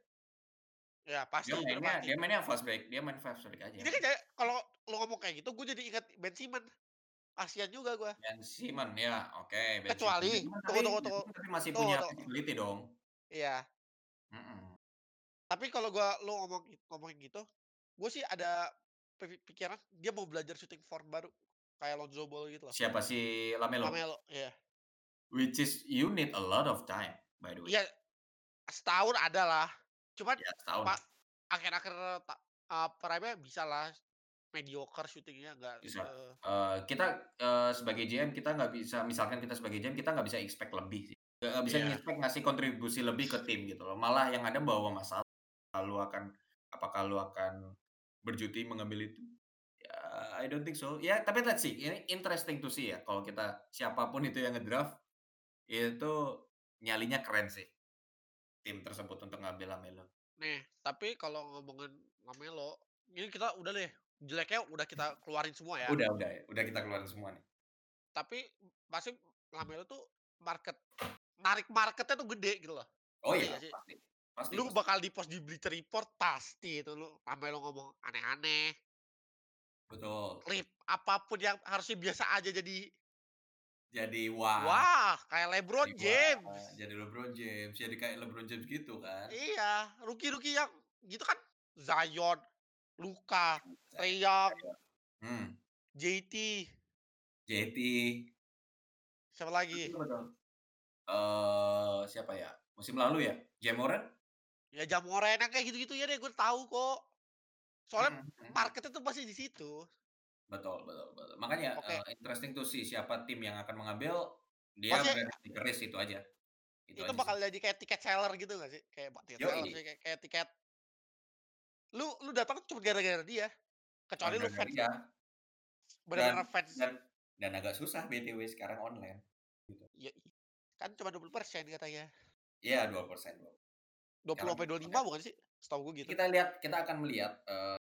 ya Dia pasti, itu udah mainnya pasti. dia mainnya fast break, dia main fast break aja. Ini kan kayak kalau lo ngomong kayak gitu, gue jadi ingat Ben Simmons. Kasian juga gue. Ben Simmons, ya, oke, Ben Simmons. Ben Kecuali, Simmons tapi tunggu tunggu Ben tunggu, Simmons tapi masih tunggu punya tunggu. flexibility dong. Iya. Mhm. Tapi kalau gue lo ngomong ngomongin gitu, gue sih ada pi pikiran dia mau belajar shooting form baru. Kayak Lonzo Ball gitu loh. Siapa, si Lamelo? Lamelo, iya. Which is you need a lot of time, by the way. Iya, setahun ada lah. Cuman Ya setahun pa lah, akhir-akhir ta eee, prime-nya bisalah mediocre shooting-nya nggak bisa. se Eee, kita, eee, sebagai G M kita nggak bisa misalkan kita sebagai G M kita nggak bisa expect lebih sih. Nggak nggak bisa iya. nge-expect ngasih kontribusi lebih ke tim gitu loh. Malah yang ada bawa masalah, lu akan apakah lu akan berjuti mengambil itu? Ya, I don't think so. Ya, tapi let's see, ini interesting to see ya kalau kita siapapun itu yang nge-draft, itu nyalinya keren sih, tim tersebut untuk ngambil Lamelo. Nih, tapi kalau ngomongin Lamelo, ini kita udah deh, jeleknya udah kita keluarin semua ya. Udah udah ya, udah kita keluarin semua nih. Tapi pasti Lamelo tuh market narik marketnya tuh gede gitu loh. Oh Ngerti iya, nggak sih? pasti. Pasti Lu pasti. bakal di-post di Bleacher Report pasti itu lu Lamelo ngomong aneh-aneh, Betul. klip apapun yang harusnya biasa aja jadi, Jadi wah, wah, kayak jadi LeBron wah, James. jadi LeBron James, jadi kayak LeBron James gitu kan. Iya, rookie-rookie yang gitu kan, Zion, Luka, Saya Trae Young, saya hmm, J T, J T, siapa lagi? betul betul. Eee, siapa ya, musim lalu ya, Ja Morant? Ya Ja Morant yang kayak gitu-gitu ya deh gue tahu kok. Soalnya Mhm mhm. marketnya tuh pasti di situ. Betul betul betul. Makanya, Oke, eee, interesting to see siapa tim yang akan mengambil, dia pasti berani take risk itu aja, itu itu aja sih. bakal jadi kayak tiket seller gitu nggak sih? Kayak bukan tiket seller Yoi, sih, kayak kayak tiket lu lu datang cuma gara-gara dia, kecuali lu gara-gara fans dia dan bener-bener fans. dan dan agak susah B T W sekarang online, gitu. Ya kan cuma dua puluh persen katanya. Iya dua persen loh, dua puluh sekarang sampai kita dua puluh lima lihat bukan sih? Setahu gue gitu. kita lihat kita akan melihat, eee,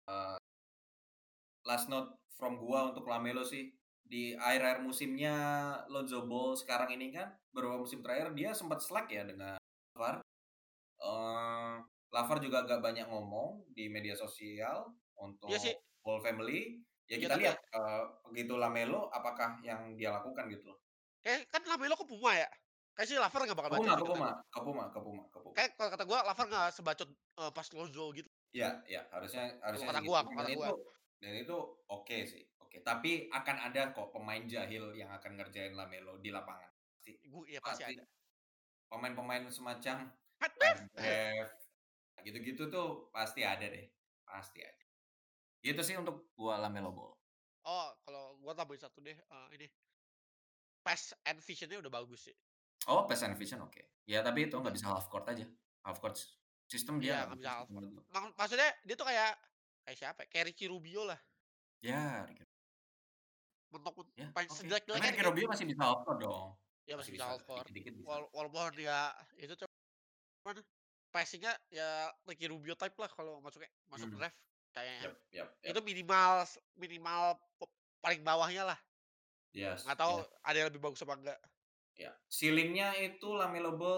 last note from gua untuk Lamelo sih, di akhir-akhir musimnya Lonzo Ball sekarang ini kan, beberapa musim terakhir dia sempat slack ya dengan LaVar, eee, LaVar juga agak banyak ngomong di media sosial Iya sih, untuk Ball family, ya ya kita tapi lihat, eee, begitu Lamelo apakah yang dia lakukan gitu loh. kayak kan Lamelo ke Puma ya? Kayaknya sih Lavar nggak bakal Ke bacot Puma sih ke kata Puma gue. ke Puma ke Puma ke Puma. Kayak kalau kata gue Lavar nggak sebacot, eee, pas Lonzo gitu, Iya iya, harusnya kalau harusnya kata sih gue gitu kalau dan kata gue. itu dan itu oke sih, oke. Tapi akan ada kok pemain jahil yang akan ngerjain Lamelo di lapangan, pasti Gue iya pasti pasti. ada. Pemain-pemain semacam Pat Pat Bev! Bev, gitu-gitu tuh pasti ada deh, pasti ada. Gitu sih untuk gua Lamelo Ball. Oh, kalau gue tambahin satu deh, eee, ini, pace and vision-nya udah bagus sih. Oh, pass and vision oke. Ya tapi itu nggak Udah, bisa half court aja. Half court s sistem dia iya nggak nggak bisa bisa sih half court. menurut gua. Mak maksudnya dia tuh kayak kayak siapa ya, kayak Ricky Rubio lah, Ya, Ricky mentok ya, paling oke. Tapi sejelek-jeleknya Ricky Ricky, Rubio masih bisa half court dong. ya Masih masih bisa bisa, half court. dikit-dikit bisa. Wal walaupun dia itu cuman passing-nya ya Ricky Rubio type lah kalau masuknya masuk Mhm. draft kayaknya. Yap yap yap. Itu minimal s minimal p paling bawahnya lah, Yes, nggak tahu yes. ada yang lebih bagus apa enggak. Ya, ceiling-nya itu Lamelo Ball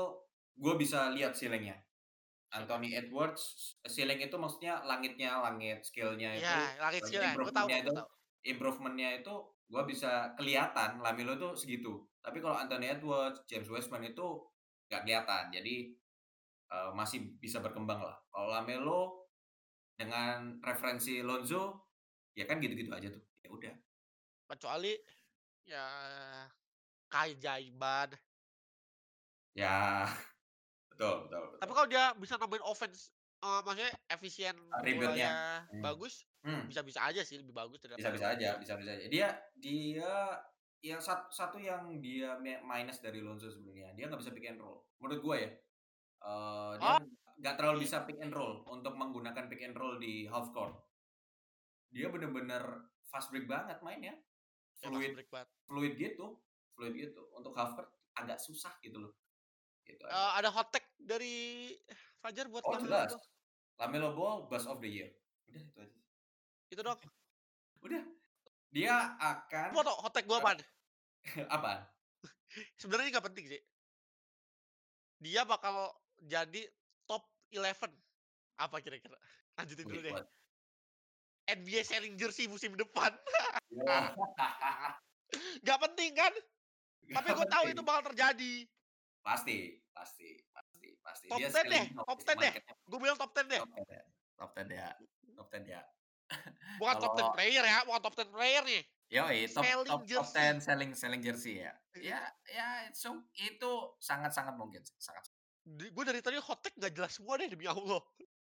Gue bisa lihat ceiling-nya. Siapa? Anthony Edwards, ceiling itu maksudnya langitnya, langit skill-nya Iya, itu, langit langit skill ya, gue tahu improvement-nya kok, itu gue tahu. improvement-nya itu gua bisa kelihatan Lamelo tuh segitu. Tapi kalau Anthony Edwards, James Wiseman itu nggak kelihatan. Jadi, eee, masih bisa berkembang lah. Kalau Lamelo dengan referensi Lonzo, ya kan gitu-gitu aja tuh, ya udah. Kecuali ya keajaiban. Ya, betul betul Tapi betul. kalau dia bisa nambahin offense, eee, maksudnya efisien Rebound-nya, bolanya hmm, bagus, hmm. bisa-bisa aja sih lebih bagus daripada Bisa-bisa aja Lonzo. bisa-bisa aja. Dia dia yang sat satu yang dia me minus dari Lonzo sebenarnya, dia nggak bisa pick and roll. Menurut gua ya, eee, dia Oh, nggak terlalu iya, bisa pick and roll untuk menggunakan pick and roll di half court. Dia bener-bener fast break banget mainnya, ya fast fluid break banget. fluid gitu fluid gitu. Untuk half court agak susah gitu loh, gitu aja. Eee, ada hot take dari Fajar buat Oh LaMelo jelas, Ball? LaMelo Ball Bust of the Year. Udah itu aja. Itu dong. Udah, dia akan Mau tau hot take gua eee, apaan? apaan? Sebenarnya ini nggak penting sih. Dia bakal jadi top eleven. Apa kira-kira? Lanjutin dulu Wait, deh. what? N B A selling jersey musim depan. Wah. Nggak penting kan? Tapi Nggak gue tahu itu penting. bakal terjadi. Pasti pasti pasti pasti. Top Dia ten deh, selling top oke, ten deh. marketnya Gue bilang top ten deh. top ten ya top ten ya top ten ya. Bukan top ten Kalau player ya, bukan top ten player nih. yoi, top top Selling top ten jersey. selling selling jersey ya. Ya ya so itu sangat-sangat mungkin sih, sangat. Gue dari tadi hot take nggak jelas semua deh demi Allah.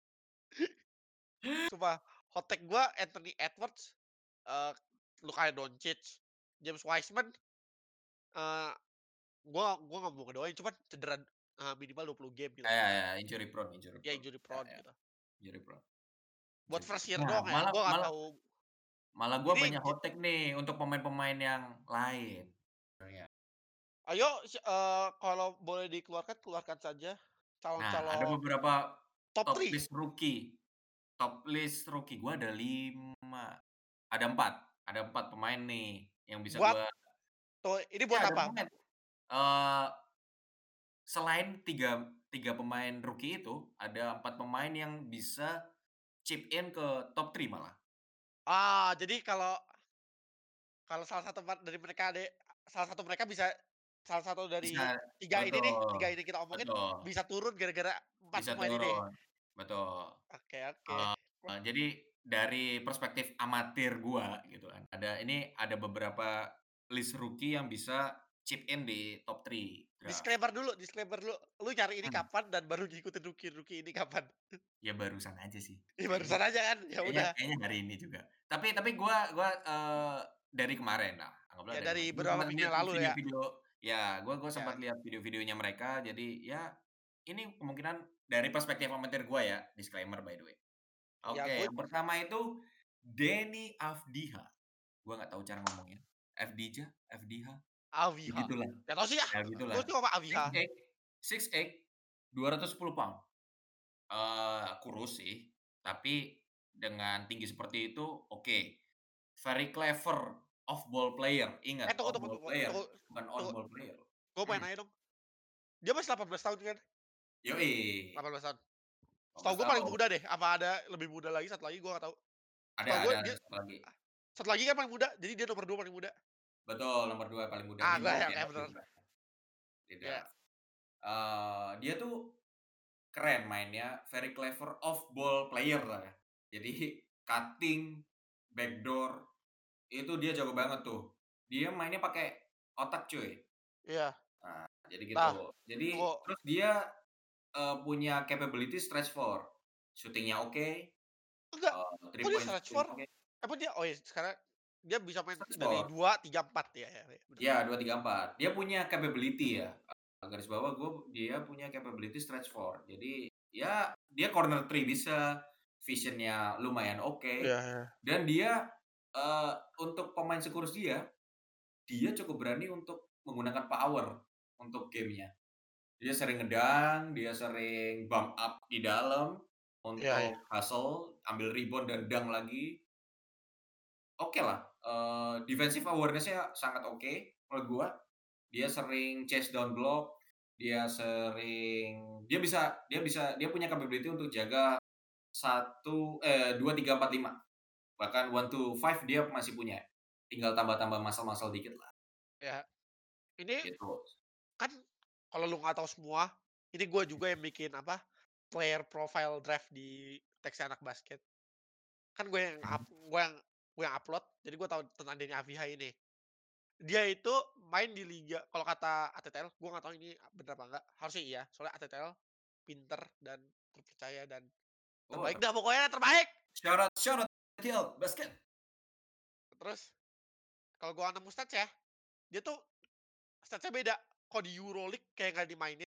Sumpah, hot take gue Anthony Edwards, eee, Luka Doncic, James Wiseman, eee, gue gue nggak mau ngedoain, cuman cedera, eee, minimal dua puluh game gitu. Ya ya ya, injury prone injury Ya prone. injury Ya prone ya, gitu. injury prone Buat injury first prone. year Nah, doang ya, malah gue nggak malah tahu. malah gua Ini banyak je hot take nih untuk pemain-pemain yang lain, sebenarnya. ayo, si eee, kalau boleh dikeluarkan, keluarkan saja Nah, ada calon-calon beberapa top top three. list rookie top list rookie gua ada lima, ada empat ada empat pemain nih yang bisa Buat gua tuh, ini buat ya ada apa? pemain, eee, selain tiga tiga pemain rookie itu, ada empat pemain yang bisa chip in ke top tiga malah. Ah, jadi kalau kalau salah satu part dari mereka ade salah satu mereka bisa salah satu dari Bisa tiga ini nih, betul tiga ini kita omongin, betul, bisa turun gara-gara empat bisa pemain ini. turun, betul. Oke oke. Wah, Eee, jadi dari perspektif amatir gua gitu kan, ada ini ada beberapa list rookie yang bisa chip in di top tiga draft. disclaimer dulu disclaimer dulu, lu nyari ini Hmm, kapan dan baru ngikutin rookie-rookie ini kapan? ya barusan aja sih, Ya kayaknya barusan aja kan? Ya kayaknya udah. kayaknya hari ini juga. Tapi tapi gua gua, eee, dari kemarin lah, anggaplah Ya dari kemarin. dari Gua beberapa sempat minggu lihat yang lalu ya. video-video ya, gua gua sempat Ya lihat video-videonya mereka, jadi ya ini kemungkinan dari perspektif amatir gua ya, disclaimer by the way. ya Oke, gue yang pertama itu Denny Avdija, gua nggak tahu cara ngomongnya, Avdija, Avdija, Aviha. begitulah, Nggak tahu sih ah, ya gue begitulah. cuma sama Six Aviha. eight, six eight, dua ratus sepuluh pound, eee, kurus sih, tapi dengan tinggi seperti itu oke. Very clever off ball player, Eh, ingat tunggu off tunggu ball tunggu player, tunggu bukan on tunggu, ball player. gue pengen Mmm, nanya dong, dia masih delapan belas tahun kan? yoi, delapan belas tahun. lima Setahu belas gue paling tahun. muda deh, apa ada lebih muda lagi satu lagi gue nggak tahu. Ada Setahu gue ada ada dia satu lagi. ah, satu lagi kan paling muda, jadi dia nomor dua paling muda. Betul, nomor dua paling muda Ah, di gue draft ya ya, kayak di bener. draft di Ya. draft. Eee, dia tuh keren mainnya, very clever off ball player lah ya. Jadi cutting, backdoor, itu dia jago banget tuh. Dia mainnya pakai otak cuy. Iya. Nah, jadi Nah, gitu. Jadi tunggu. terus dia, eee, punya capability stretch four, shooting-nya oke, Enggak, eee, three kok dia point stretch shooting four? oke, Apa dia oh ya sekarang dia bisa main stretch dari four. dua, tiga, empat ya ya ya, bener. Ya, dua tiga empat. Dia punya capability ya, eee, garis bawah gue dia punya capability stretch four. Jadi, ya dia corner three bisa, vision-nya lumayan Iya oke, iya. dan dia, eee, untuk pemain sekurus dia, dia cukup berani untuk menggunakan power untuk game-nya. Dia sering ngedunk, dia sering bump up di dalam Iya iya. untuk hustle, ambil rebound dan dunk lagi. Okelah, eee, defensive awareness-nya sangat oke menurut gua. Dia sering chase down block, Dia sering dia bisa dia bisa dia punya capability untuk jaga satu eh, dua, tiga, empat, lima. Bahkan one to five dia masih punya. Tinggal tambah-tambah muscle-muscle dikit lah, Ya, ini gitu. kan kalau lu nggak tahu semua, ini gue juga yang bikin apa, player profile draft di Teks Anak Basket. Kan gue yang up Mhm. gue yang gue yang upload, jadi gue tahu tentang Denny Avdija ini. Dia itu main di liga kalau kata A T T L, gue nggak tahu ini bener apa enggak, harusnya iya, soalnya A T T L pinter dan terpercaya dan Oh, terbaik ter dah pokoknya terbaik. shout out shout out T L basket. Terus kalau gue nemu stats ya, dia tuh stats-nya beda. Kalau di Euroleague kayak nggak dimainin,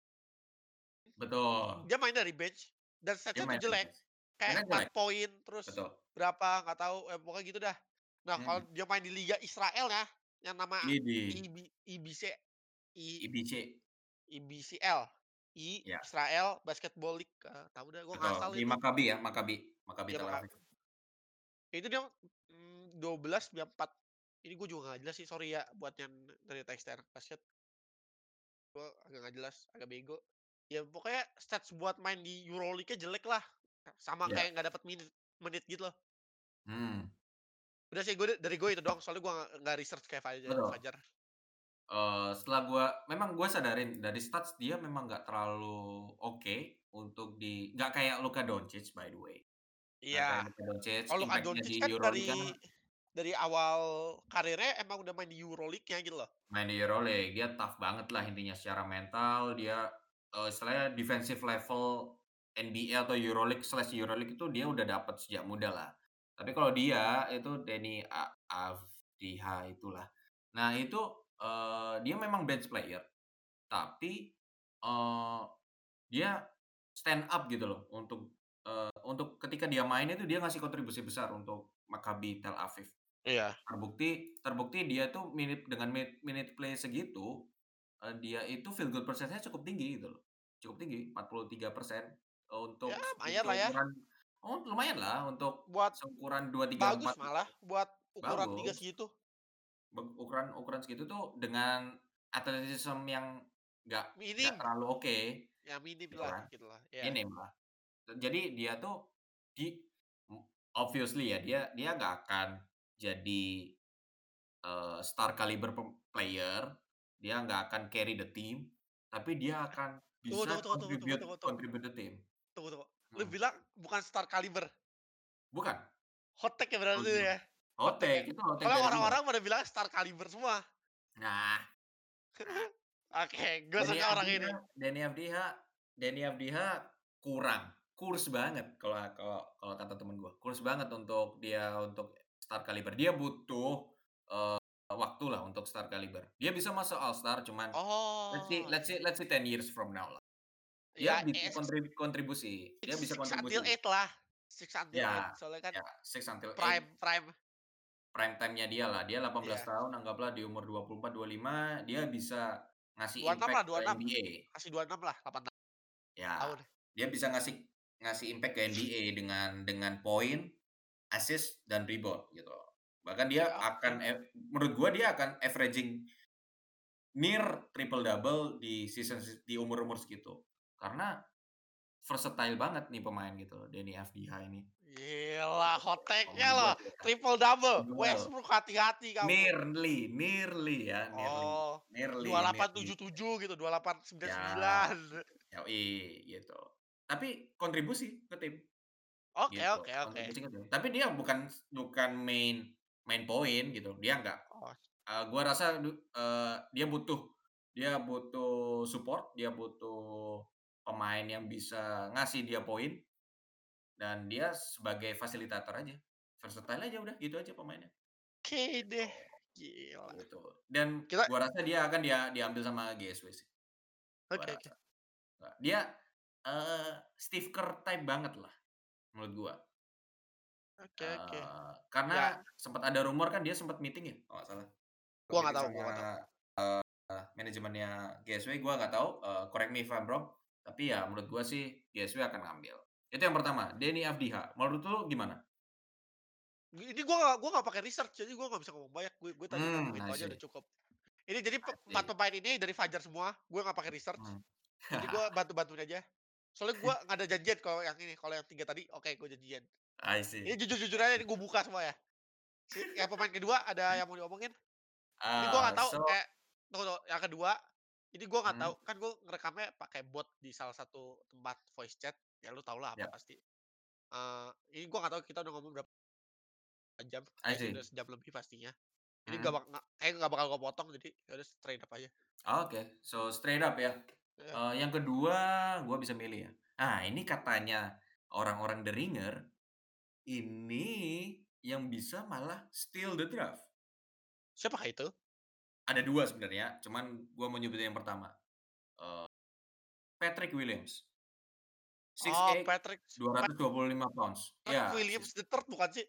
Betul, dia main dari bench dan dia stats-nya tuh main jelek. defense. Kayak Mainnya empat jelek, poin, terus betul. berapa nggak tahu, eh, pokoknya gitu dah. Nah, kalau Mhm. dia main di liga Israel ya, yang nama Idih, IB IBC I I B C, IBCL, I ya, Israel Basketball League, eee, tahu dah gue betul. ngasal Di itu. Maccabi ya, Maccabi Maccabi Ya Tel maka Aviv. itu dia, mmm, dua belas, sembilan empat. Ini gue juga nggak jelas sih, sorry ya buat yang dari Teks Anak Basket, gue agak nggak jelas, agak bego. Ya pokoknya stats buat main di Euroleague-nya jelek lah, sama Iya, kayak nggak dapat menit menit gitu loh. hmm, Udah sih gue dari gue itu doang, soalnya gue nggak nggak research kayak Faja betul. Fajar. Eee, setelah gua memang gua sadarin dari stats dia memang nggak terlalu oke untuk di nggak kayak Luka Doncic by the way, nggak kayak Iya, Luka Doncic, kalau Luka impact-nya Doncic di kan Euroleague kan dari dari awal karirnya emang udah main di Euroleague-nya gitu loh. main di Euroleague, dia tough banget lah intinya secara mental, dia, eee, istilahnya defensive level N B A atau Euroleague/Euroleague itu dia udah dapet sejak muda lah. Tapi kalau dia itu Deni A Avdija itulah. Nah itu, eee, dia memang bench player, tapi, eee, dia stand up gitu loh untuk, eee, untuk ketika dia main itu dia ngasih kontribusi besar untuk Maccabi Tel Aviv. Iya. Terbukti terbukti dia tuh minute dengan minute minute play segitu, eee, dia itu field goal percentage-nya cukup tinggi gitu loh, cukup tinggi empat puluh tiga persen, eee, Ya untuk se lumayan lah ya, seukuran oh lumayanlah untuk buat seukuran dua, tiga, bagus empat malah, buat ukuran liga bagus. segitu. Beg ukuran ukuran segitu tuh dengan athleticism yang nggak nggak Minim, terlalu oke, ya minim gitu lah kan, gitulah, ya. minim lah. Jadi dia tuh di obviously ya dia dia nggak akan jadi Eee, star caliber pem player, dia nggak akan carry the team, tapi dia akan Tunggu bisa tunggu tunggu tunggu tunggu contribute tunggu tunggu contribute the team. tunggu tunggu. Lu Mhm, bilang bukan star caliber, bukan, hot take ya berarti menurut gua. ya? Hot Hot take ya? take, itu hot take Soalnya dari gua. orang-orang pada bilang star caliber semua. Nah nah, Oke, gue Denny suka orang Avdija ini. Denny Avdija Denny Avdija kurang, kurs banget kalau kalau kalau kata temen gua, kurs banget untuk dia untuk star caliber. Dia butuh, eee, waktulah untuk star caliber. Dia bisa masuk All Star cuman let's see Oh, let's iya. see let's see ten years from now lah. Dia Ya, bisa eh, six kontrib kontribusi, dia bisa six until kontribusi. eight lah, six until eight Ya soalnya kan ya, six until eight prime prime. prime time-nya dia lah. Dia delapan belas Iya, tahun anggaplah di umur dua puluh empat, dua puluh lima dia bisa ngasih dua puluh enam impact lah, ke dua puluh enam. N B A. Kasih dua puluh enam lah, delapan Ya, tahun. dia bisa ngasih ngasih impact ke N B A dengan dengan poin, assist, dan rebound gitu loh. Bahkan dia Ya, akan oke. ev menurut gua dia akan averaging near triple double di season se di umur-umur segitu. Karena versatile banget nih pemain gitu loh, Denny Avdija ini. Gila, hot take-nya Menurut gua loh, sih ya. triple double. Well, Westbrook hati-hati kamu. nearly nearly ya, nearly Oh, dua nearly delapan nearly. tujuh tujuh gitu, dua delapan sembilan Ya, sembilan. yoi, gitu. Tapi kontribusi ke tim, Oke gitu, oke oke. kontribusi ke tim. Tapi dia bukan bukan main main poin gitu, dia nggak. Oh, Eee, gua rasa du eee, dia butuh dia butuh support, dia butuh pemain yang bisa ngasih dia poin, dan dia sebagai fasilitator aja. Versatile aja udah, gitu aja pemainnya, oke gitu. deh. Gila. Gitu, dan Kita gua rasa dia akan dia diambil sama G S W sih, gua oke oke. rasa. Eee, dia, eee, Steve Kerr type banget lah menurut gua. Oke oke. Eee, Ya, karena sempet ada rumor kan dia sempet meeting ya kalau nggak salah, sempet gua nggak meeting tahu sama, gua nggak tahu. eee, manajemennya G S W gua nggak tahu, eee, correct me if I'm wrong, tapi ya menurut gua sih G S W akan ngambil. Itu yang pertama, Denny Avdija, menurut lu gimana? Ini gua nggak gua nggak pakai research, jadi gua nggak bisa ngomong banyak. Gue gue tadi ngomong Mmm, itu I aja udah see cukup. Ini jadi pe I empat see. pemain ini dari Fajar semua, gue nggak pakai research. Mhm, Jadi gue bantu-bantuin aja. Soalnya gue nggak ada janjian kalau yang ini, kalau yang tiga tadi oke gue janjian. I Ini see. jujur-jujur aja ini gue buka semua ya. Si yang pemain kedua ada yang mau diomongin? Ini gue nggak Ah, tahu so kayak tunggu tunggu, yang kedua, ini gue nggak tahu, mhm, kan gue ngerekamnya pakai bot di salah satu tempat voice chat, ya lu tau lah apa ya, pasti. Eee, ini gue nggak tahu kita udah ngomong berapa jam, I kayak sih see. udah sejam lebih pastinya. Ini nggak Mhm. bak nggak kayaknya nggak bakal gue potong jadi ya udah straight up aja. Oke, so straight up ya. Iya. Eee, yang kedua gua bisa milih ya. Nah, ini katanya orang-orang The Ringer, ini yang bisa malah steal the draft. Siapakah itu? Ada dua sebenarnya, cuman gua mau nyebutin yang pertama, eee, Patrick Williams, Oh, six eight, Patrick dua ratus dua puluh lima pounds. Patrick Ya, sis Williams the third bukan sih?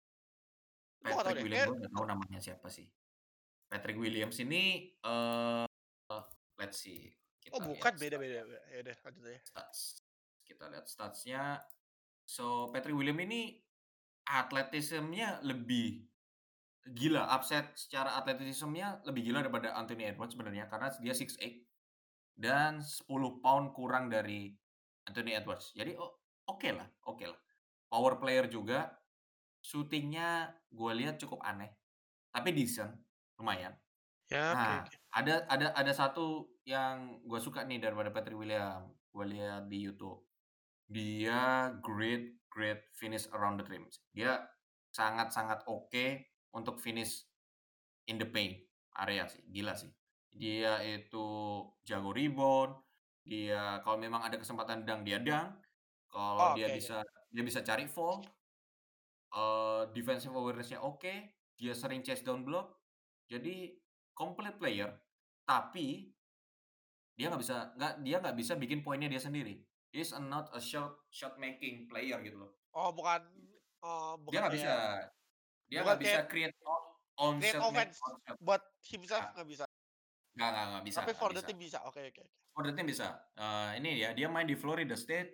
Gue nggak tahu Patrick deh, Williams, kayak gua nggak tahu namanya siapa sih. Patrick Williams ini, eee, let's see, oh kita bukan, lihat beda stats beda, ya, be ya udah lanjut aja. stats. Kita lihat stats-nya. So, Patrick Williams ini atletisme-nya lebih gila, upset secara atletisme-nya lebih gila daripada Anthony Edwards sebenarnya, karena dia six eight dan sepuluh pound kurang dari Anthony Edwards. Jadi o okelah okelah. Power player juga, shooting-nya gua lihat cukup aneh, tapi decent, lumayan. Ya, oke Nah, oke. ada ada ada satu yang gua suka nih daripada Patrick Williams, gua lihat di YouTube. Dia great great finish around the rim. Dia sangat-sangat oke untuk finish in the paint area sih, gila sih. Dia itu jago rebound, dia kalau memang ada kesempatan dunk, dia dunk, kalau Oh, dia oke oke. bisa dia bisa cari foul, eee, defensive awareness-nya oke, dia sering chase down block, jadi complete player, tapi dia nggak bisa nggak dia nggak bisa bikin poinnya dia sendiri. He's a not a shot shot making player gitu loh. Oh bukan oh Dia bukan nggak bisa kayak dia bukan nggak bisa kayak create on on create shot make offense on shot. buat himself Nggak nggak bisa, nggak nggak nggak bisa tapi nggak for the bisa. team bisa. Oke oke oke. For the team bisa. Eee, ini ya, dia main di Florida State,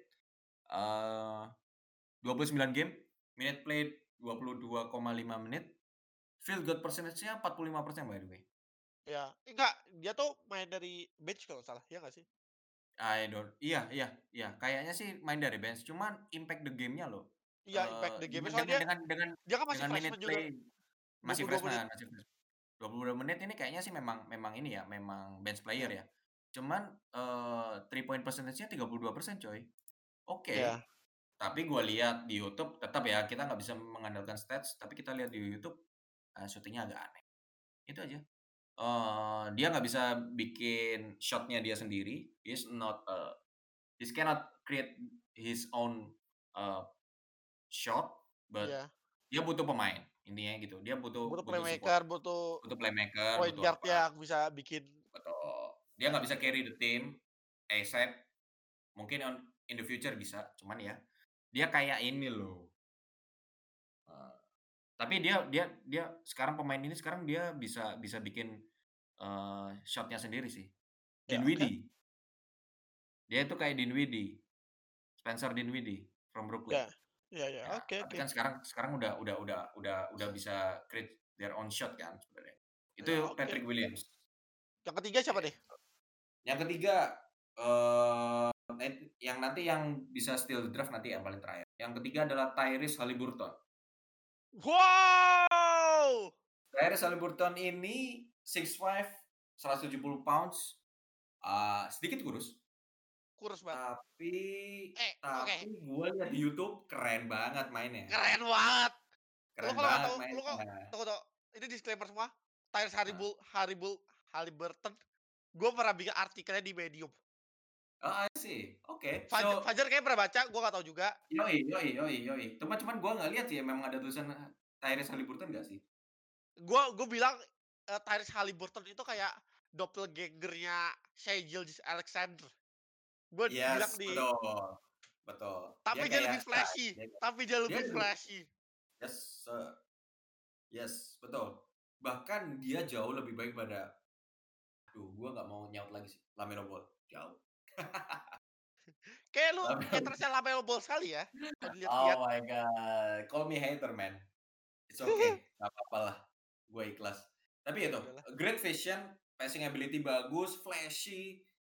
eee, dua puluh sembilan game, minute played dua puluh dua koma lima menit, field goal percentage-nya empat puluh lima persen by the way. Ya, enggak, dia tuh main dari bench kalau nggak salah, iya nggak sih? I don't iya iya iya, kayaknya sih main dari bench, cuman impact the game-nya loh, Iya, eee, impact the game dengan soalnya dengan dia dengan dengan dia kan masih dengan minute freshman juga, play dua masih puluh dua menit. freshman masih fresh dua puluh dua menit ini kayaknya sih memang memang ini ya, memang bench player Iya ya. Cuman, eee, three point percentage-nya tiga puluh dua persen coy. Oke, iya tapi gua lihat di YouTube tetap ya kita nggak bisa mengandalkan stats, tapi kita lihat di YouTube, eee, syutingnya agak aneh, itu aja. Eee, dia nggak bisa bikin shot-nya dia sendiri, he's not a he cannot create his own, eee, shot, but iya. dia butuh pemain, intinya gitu. Dia butuh Butuh butuh support, playmaker, butuh butuh playmaker, point butuh guard apa, yang bisa bikin betul. Dia ya nggak bisa oke carry oke. the team ASAP, mungkin on in the future bisa, cuman ya, dia kayak ini loh, eee, tapi dia dia dia sekarang pemain ini sekarang dia bisa bisa bikin, eee, shot-nya sendiri sih. Ya oke. Dinwiddie, dia itu kayak Dinwiddie, Spencer Dinwiddie from Brooklyn. Ya. Iya iya, Ya, oke tapi oke. kan sekarang sekarang udah udah udah udah udah bisa create their own shot kan sebenarnya. Ya Itu oke. Patrick Williams. Yang ketiga siapa nih? Gitu. Yang ketiga, eee, net yang nanti yang bisa steal the draft nanti yang paling terakhir. Yang ketiga adalah Tyrese Haliburton. Wow! Tyrese Haliburton ini six five, seratus tujuh puluh pounds, eee, sedikit kurus, Kurus banget. tapi Eh, oke, tapi gue lihat di YouTube keren banget mainnya, keren banget. Lu keren kalau nggak banget tahu lu kok mainnya. tunggu tunggu, ini disclaimer semua, Tyrese Heeh. Haribul Haribul Haliburton, gue pernah bikin artikelnya di Medium. Oh, I see. Oke. Faj So Fajar kayaknya pernah baca, gue nggak tahu juga. yoi yoi yoi yoi. Cuma cuman gua nggak lihat sih memang ada tulisan Tyrese Haliburton nggak sih? Gue gue bilang, eee, Tyrese Haliburton itu kayak doppelganger-nya Shai Gilgeous-Alexander. Gue bilang Yes, di betul, betul. Dia tapi dia kayak lebih Shaq, flashy dia tapi dia dia lebih lebih flashy. yes, sir, yes, betul. Bahkan dia jauh lebih baik pada aduh gua nggak mau nyaut lagi sih, LaMelo Ball, jauh. Kayak lu LaMelo hatersnya Lamelo Ball sekali ya, kalau dilihat-lihat. oh my god, call me hater man, it's okay, nggak apa-apa lah, gua ikhlas. Tapi Ya itu, udahlah. great vision, passing ability bagus, flashy,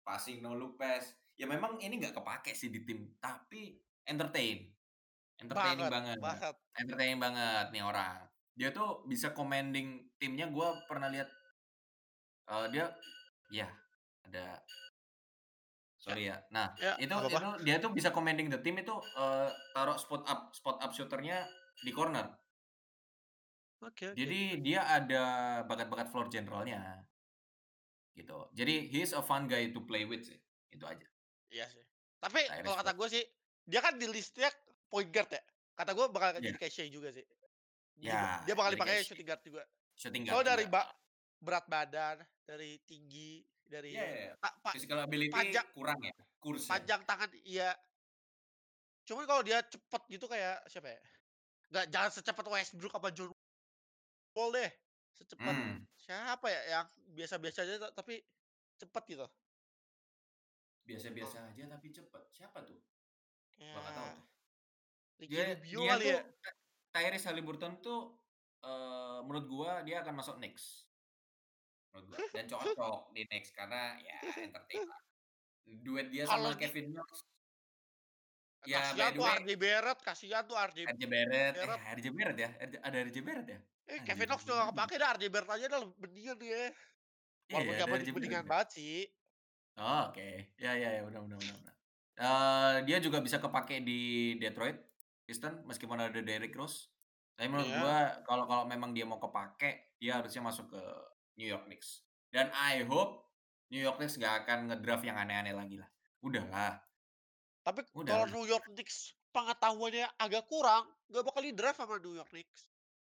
passing no look pass. Ya memang ini nggak kepake sih di tim, tapi entertain, entertaining Banget banget, banget. entertaining banget nih orang. Dia tuh bisa commanding timnya, gua pernah lihat, eee, dia ya ada Ya sorry ya. Nah, ya, itu nggak apa-apa. itu dia tuh bisa commanding the team itu, eee, taruh spot up spot up shooter-nya di corner. Oke oke. Jadi dia ada bakat-bakat floor general-nya, gitu. Jadi he is a fun guy to play with sih, itu aja. Iya sih. Tapi kalau Tyrese kata Maxey. gue sih, dia kan di list-nya point guard ya. Kata gue bakal Iya. jadi kayak Shai juga sih. Di Ya, dia bakal jadi kayak dipakainya Shea. shooting guard juga. Shooting guard Soalnya dari juga, ba heeh. berat badan, dari tinggi, Iya dari iya iya. pa pa Physical ability panjang kurang ya, Kurus ya? panjang tangan iya. Cuman kalau dia cepet gitu kayak siapa ya, nggak jangan secepat Westbrook apa John Wall deh, secepat Mmm, siapa ya yang biasa-biasa aja ta tapi cepet gitu. biasa-biasa Heeh, aja tapi cepet, siapa tuh? Gua nggak tahu kayak tuh. Ricky Dia Rubio dia kali tuh ya? Ty Tyrese Haliburton tuh, eee, menurut gua dia akan masuk Knicks, menurut gua, dan cocok di Knicks karena ya entertain lah. Duet dia Kalau sama di Kevin Knox, ya by kasihan the tuh way, R J Barrett, kasihan tuh R J R J Barrett, eh Barrett. R J Barrett ya? R J ada R J Barrett ya? Eh, Anjir, Kevin Knox gua juga baru nggak inget. kepake dah, R J Barrett aja dah mendingan dia. Iya ya, Walaupun ada nggak R J Barrett banding-bandingan ya? banget sih. Oh, oke. Ya ya ya, benar benar benar benar. Eee, dia juga bisa kepakai di Detroit Pistons meskipun ada Derrick Rose. Tapi menurut Iya. gua kalau kalau memang dia mau kepake, dia harusnya masuk ke New York Knicks. Dan I hope New York Knicks nggak akan nge-draft yang aneh-aneh lagi lah. Udahlah, Tapi kalau udahlah. New York Knicks pengetahuannya agak kurang, nggak bakal di-draft sama New York Knicks.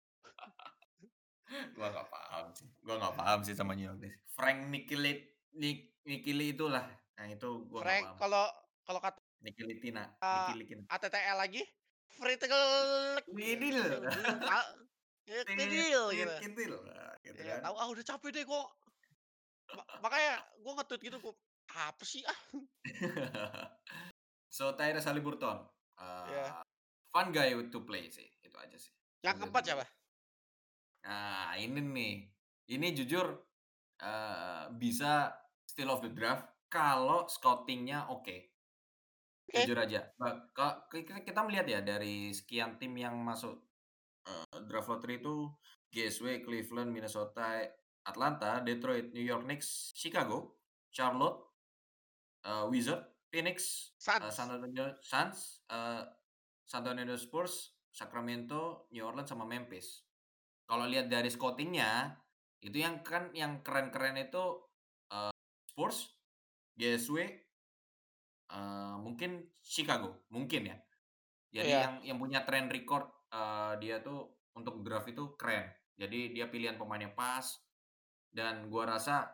Gua nggak paham sih, gua nggak paham sih sama New York Knicks. Frank Ntilikina Nik Nikili itulah, nah itu gua nggak Frank paham. kalau kalau kata Nikilitina Nikilikina. A T T L lagi, Fritegel Widil. ta ya Tit kecil tit gitu. kintil, nah, gitu Ya kan. tahu, ah, udah capek deh gua ma makanya gua nge-tweet gitu, gua, "Apa sih, ah?" So, Tyrese Haliburton, Ya. eee, fun guy to play sih, itu aja sih. Yang Fun guy to keempat play. siapa? Nah, ini nih, ini jujur, eee, bisa steal of the draft kalau scouting-nya oke, Oke, jujur aja. Ba ka ki ki kita melihat ya dari sekian tim yang masuk, eee, draft lottery itu G S W, Cleveland, Minnesota, Atlanta, Detroit, New York Knicks, Chicago, Charlotte, eee, Wizards, Phoenix, eee, San Suns. Antonio Suns, eee, San Antonio Spurs, Sacramento, New Orleans, sama Memphis. Kalau lihat dari scouting-nya, itu yang kan yang keren-keren itu, eee, Spurs, G S W, eee, mungkin Chicago, mungkin ya. Jadi Iya. yang yang punya track record, eee, dia tuh untuk draft itu keren. Jadi dia pilihan pemainnya pas dan gua rasa,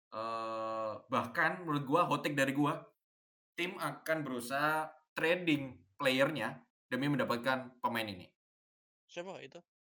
eee, bahkan menurut gua hot take dari gua, tim akan berusaha trading player-nya demi mendapatkan pemain ini, Siapa itu?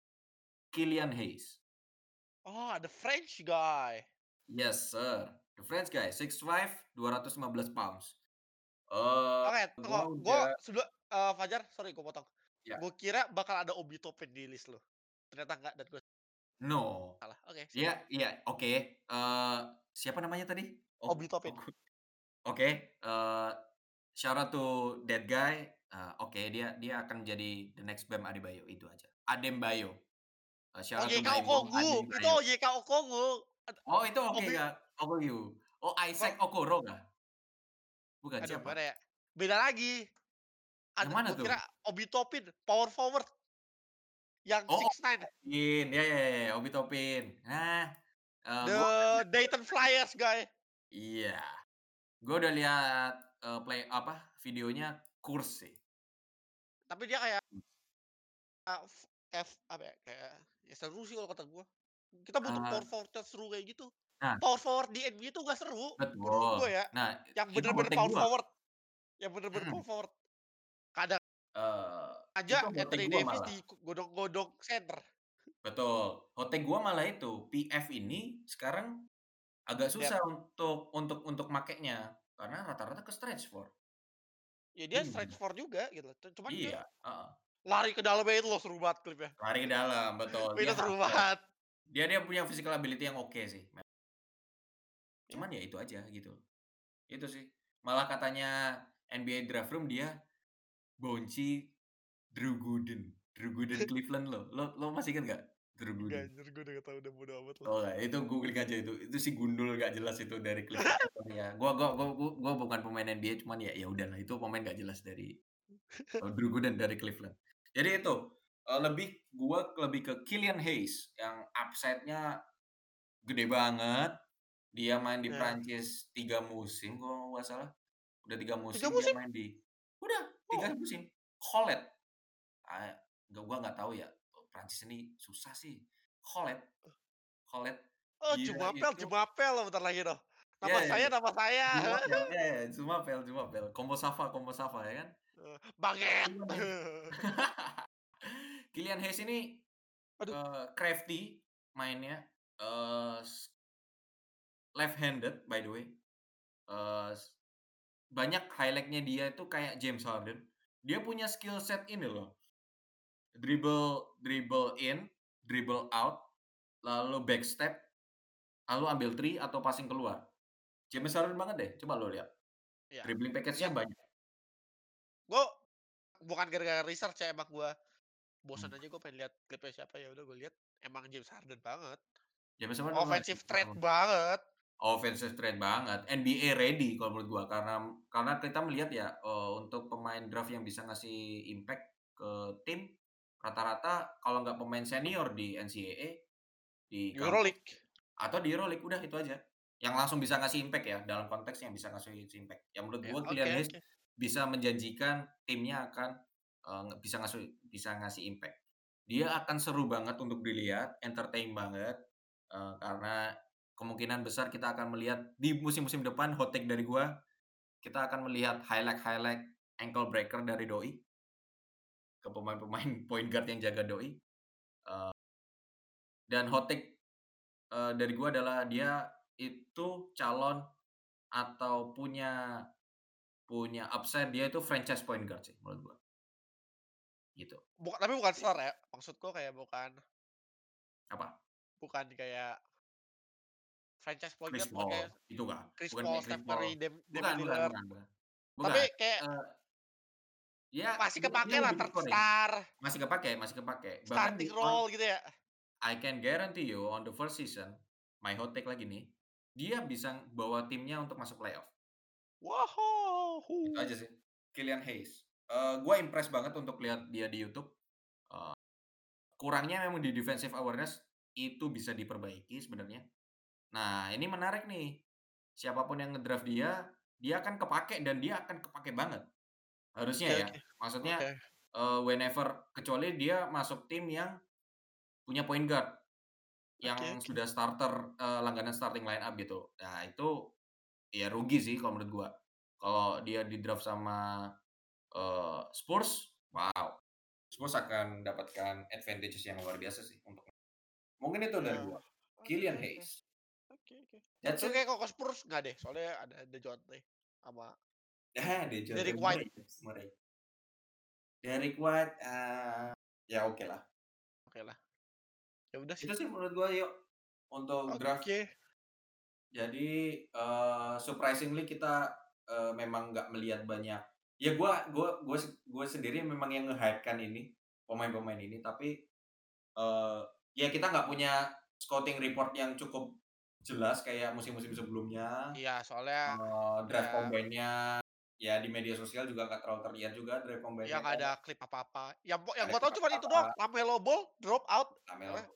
Killian Hayes. Oh, the French guy. Yes sir, the French guy, six five, dua ratus lima belas pounds. Eee, Oke, tunggu, gua gua udah sebelum eee, Fajar, sorry gua potong. ya, Gua kira bakal ada Obi Toppin di list lu. Ternyata enggak dan gua no. salah. Oke, Iya siap. iya, oke, eee, siapa namanya tadi? Ok Obi Toppin. Oku oke, eee, shout out to that guy, eee, oke, dia dia akan jadi the next Bam Adebayo, itu aja. Adebayo, eee, shout out to O J K Baim Bom Okongwu, itu Adebayo. O J K Okongwu. Ad Oh, itu oke Obi ya, Okoye. Oh, kok Isaac Okoro kah? Bukan, aduh siapa? gimana ya, beda lagi. Yang Ada mana gua kira tuh? Obi Toppin, power forward yang Oh, six nine, Topin, ya ya ya, Obi Toppin. Nah, eee, gua udah the lihat Dayton Flyers guy. iya, gua udah lihat, eee, play apa, videonya kurs sih. Tapi dia kayak f f apa ya, kayak ya seru sih kalau kata gua. Kita butuh Eee, power forward yang seru kayak gitu. nah, Power forward di N B A itu nggak seru menurut betul. gua ya, Nah, yang itu hot bener-bener take power gua, forward, yang bener-bener mhm, power forward. Kadang eee, aja itu hot take Anthony gua Davis malah. digodok-godok center. Betul, hot take gua malah itu, P F ini sekarang agak Lihat, susah untuk untuk untuk makainya, karena rata-rata ke stretch four, ya dia stretch bingung. four juga gitu, cu cuman dia Iya, heeh, lari ke dalamnya itu loh seru banget klipnya. lari ke dalam, betul, dia Itu seru hustle. banget. Dia dia punya physical ability yang oke sih, Ya, cuman ya itu aja gitu. Itu sih. Malah katanya N B A Draft Room dia bonci Drew Gooden. Drew Gooden Cleveland loh. Lo lo masih inget nggak Drew Enggak Gooden? anjir, gue udah nggak tahu, udah bodo amat lah. Oh nggak, itu googling aja itu. Itu si gundul nggak jelas itu dari Cleveland Cavaliers. Gua gua gua gua gua bukan pemain N B A cuman ya ya udahlah itu pemain nggak jelas dari eee, Drew Gooden dari Cleveland. Jadi itu, eee, lebih gua lebih ke Killian Hayes yang upside-nya gede banget. Dia main di Ya. Prancis tiga musim kalau nggak salah. Udah tiga tiga musim dia musim? main di udah tiga Oh. musim. Collet, ah, nggak gua nggak tahu ya, Prancis ini susah sih. Collet Collet, Oh, dia Jumapel itu Jumapel loh bentar lagi tuh. ya Nama ya saya ya, nama saya. Jumapel, ya ya, Jumapel Jumapel, Combo Sava Combo Sava ya kan? Eee, Banget. Kylian Hayes Kylian Hayes ini, Aduh, eee, crafty mainnya, eee, s left handed by the way, eee, s banyak highlight-nya dia itu kayak James Harden. Dia punya skill set ini loh, dribble dribble in, dribble out, lalu backstep, lalu ambil three atau passing keluar. James Harden banget deh, coba lo lihat. iya. Dribbling package-nya Lihat, banyak. gue bukan gara-gara research ya, emang gue Mmm, bosan aja gue pengen lihat klipnya siapa, ya udah gue lihat, emang James Harden banget. James Harden banget Offensive threat banget. offensive threat banget, N B A ready kalau menurut gua karena karena kita melihat ya, eee, untuk pemain draft yang bisa ngasih impact ke tim, rata-rata kalau nggak pemain senior di N C A A, di kampus, Euroleague. atau di Euroleague, udah itu aja. Yang langsung bisa ngasih impact ya, dalam konteks yang bisa ngasih impact. Yang menurut Ya, gua oke Kylian Hayes oke. bisa menjanjikan timnya akan, eee, nge bisa ngasih bisa ngasih impact. Dia akan seru banget untuk dilihat, entertain banget, eee, karena kemungkinan besar kita akan melihat di musim-musim depan, hot take dari gua, kita akan melihat highlight-highlight ankle breaker dari doi ke pemain-pemain point guard yang jaga doi, eee, dan hot take, eee, dari gua adalah dia itu calon atau punya punya upside dia itu franchise point guard sih menurut gua, gitu. Buka tapi bukan star ya? Maksudku kayak bukan Apa? bukan kayak franchise point Chris guard, bukan kayak Paul, itu enggak, Chris bukan Paul, kayak Chris Steph Paul, Curry, Dam bukan Damian bukan Lillard, bukan bukan. tapi Bukan, kayak eee, dia masih dia dia kepakai lah lebih ke third scoring, star, masih kepakai masih kepakai. Bahkan di starting on role gitu ya? I can guarantee you on the first season, my hot take lagi nih, dia bisa bawa timnya untuk masuk playoff. Itu aja Wahoo! sih. Killian Hayes, eee, gua impress banget untuk lihat dia di YouTube, eee, kurangnya memang di defensive awareness, itu bisa diperbaiki sebenarnya. Nah, ini menarik nih, siapa pun yang nge-draft dia, dia akan kepakai dan dia akan kepakai banget, harusnya Oke ya. oke. Maksudnya, Oke. eee, whenever kecuali dia masuk tim yang punya point guard, Oke yang oke. sudah starter, eee, langganan starting line up gitu. Nah itu, ya rugi sih kalau menurut gua. Kalau dia di-draft sama, eee, Spurs, wow, Spurs akan mendapatkan advantages yang luar biasa sih untuk mungkin itu Ya, dari gua, oke Killian oke. Hayes. Oke oke. That's Tapi it. kayak kalau ke Spurs nggak deh, soalnya ada DeJounte sama Ah, DeJounte Derrick White. Murray Murray. Derrick White, eee, ya okelah. Okelah, ya udah Itu sih. sih menurut gua yuk, untuk draft. Oke. Jadi, eee, surprisingly kita, eee, memang nggak melihat banyak ya gua gua gua se gua sendiri memang yang nge-hype-kan ini, pemain-pemain ini, tapi, eee, ya kita nggak punya scouting report yang cukup jelas kayak musim-musim sebelumnya, Iya, soalnya eee, draft ya combine-nya, ya di media sosial juga nggak terlalu terlihat juga draft ya combine-nya nggak ada karena klip apa-apa. Yang po nggak yang ada gua tahu klip cuman itu doang, apa-apa, LaMelo Ball drop out, Lamelo apa,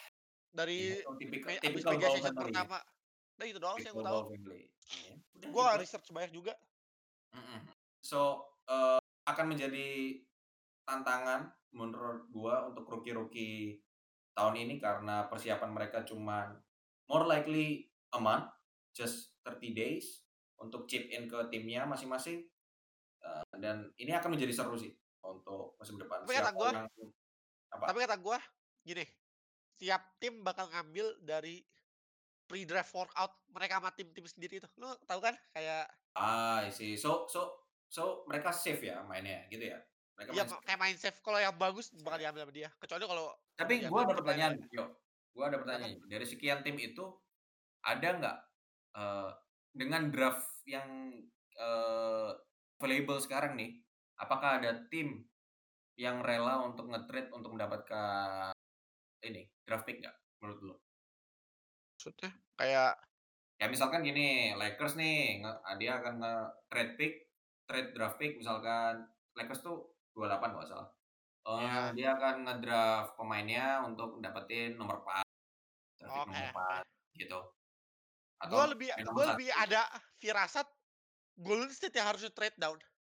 dari ya itu tipikal me habis tipikal media Ball session family ya, pertama. Nah itu doang sih yang tipikal gua tahu. Ball family, ya udah Gua itu nggak aja. research banyak juga. Mhm. So, eee, akan menjadi tantangan menurut gua untuk rookie-rookie tahun ini karena persiapan mereka cuman more likely a month, just thirty days untuk chip in ke timnya masing-masing, eee, dan ini akan menjadi seru sih untuk musim depan. Tapi kata Siapa gua yang tapi apa? kata gua gini, tiap tim bakal ngambil dari pre-draft workout mereka sama tim-tim sendiri itu. Lu tahu kan? Kayak Ah, I see. So so so mereka safe ya mainnya gitu ya? Mereka ya main ma safe kayak main safe, kalau yang bagus bakal ya? diambil sama dia. Kecuali kalau udah Tapi diambil gua ada tim lain ya. pertanyaan, Yo. Gua ada Kenapa? pertanyaan. Dari sekian tim itu ada nggak, dengan draft yang, eee, available sekarang nih, apakah ada tim yang rela untuk nge-trade untuk mendapatkan ini, draft pick nggak menurut lu? Maksudnya kayak Ya misalkan gini, Lakers nih nge eee, dia akan nge-trade pick, trade draft pick misalkan Lakers tuh dua puluh delapan kalau nggak salah, eee, ya, dia akan nge-draft pemainnya untuk dapetin nomor empat, draft pick oke nomor oke. empat gitu, atau Gue lebih main nomor gue lebih satu. ada firasat Golden State yang harusnya trade down.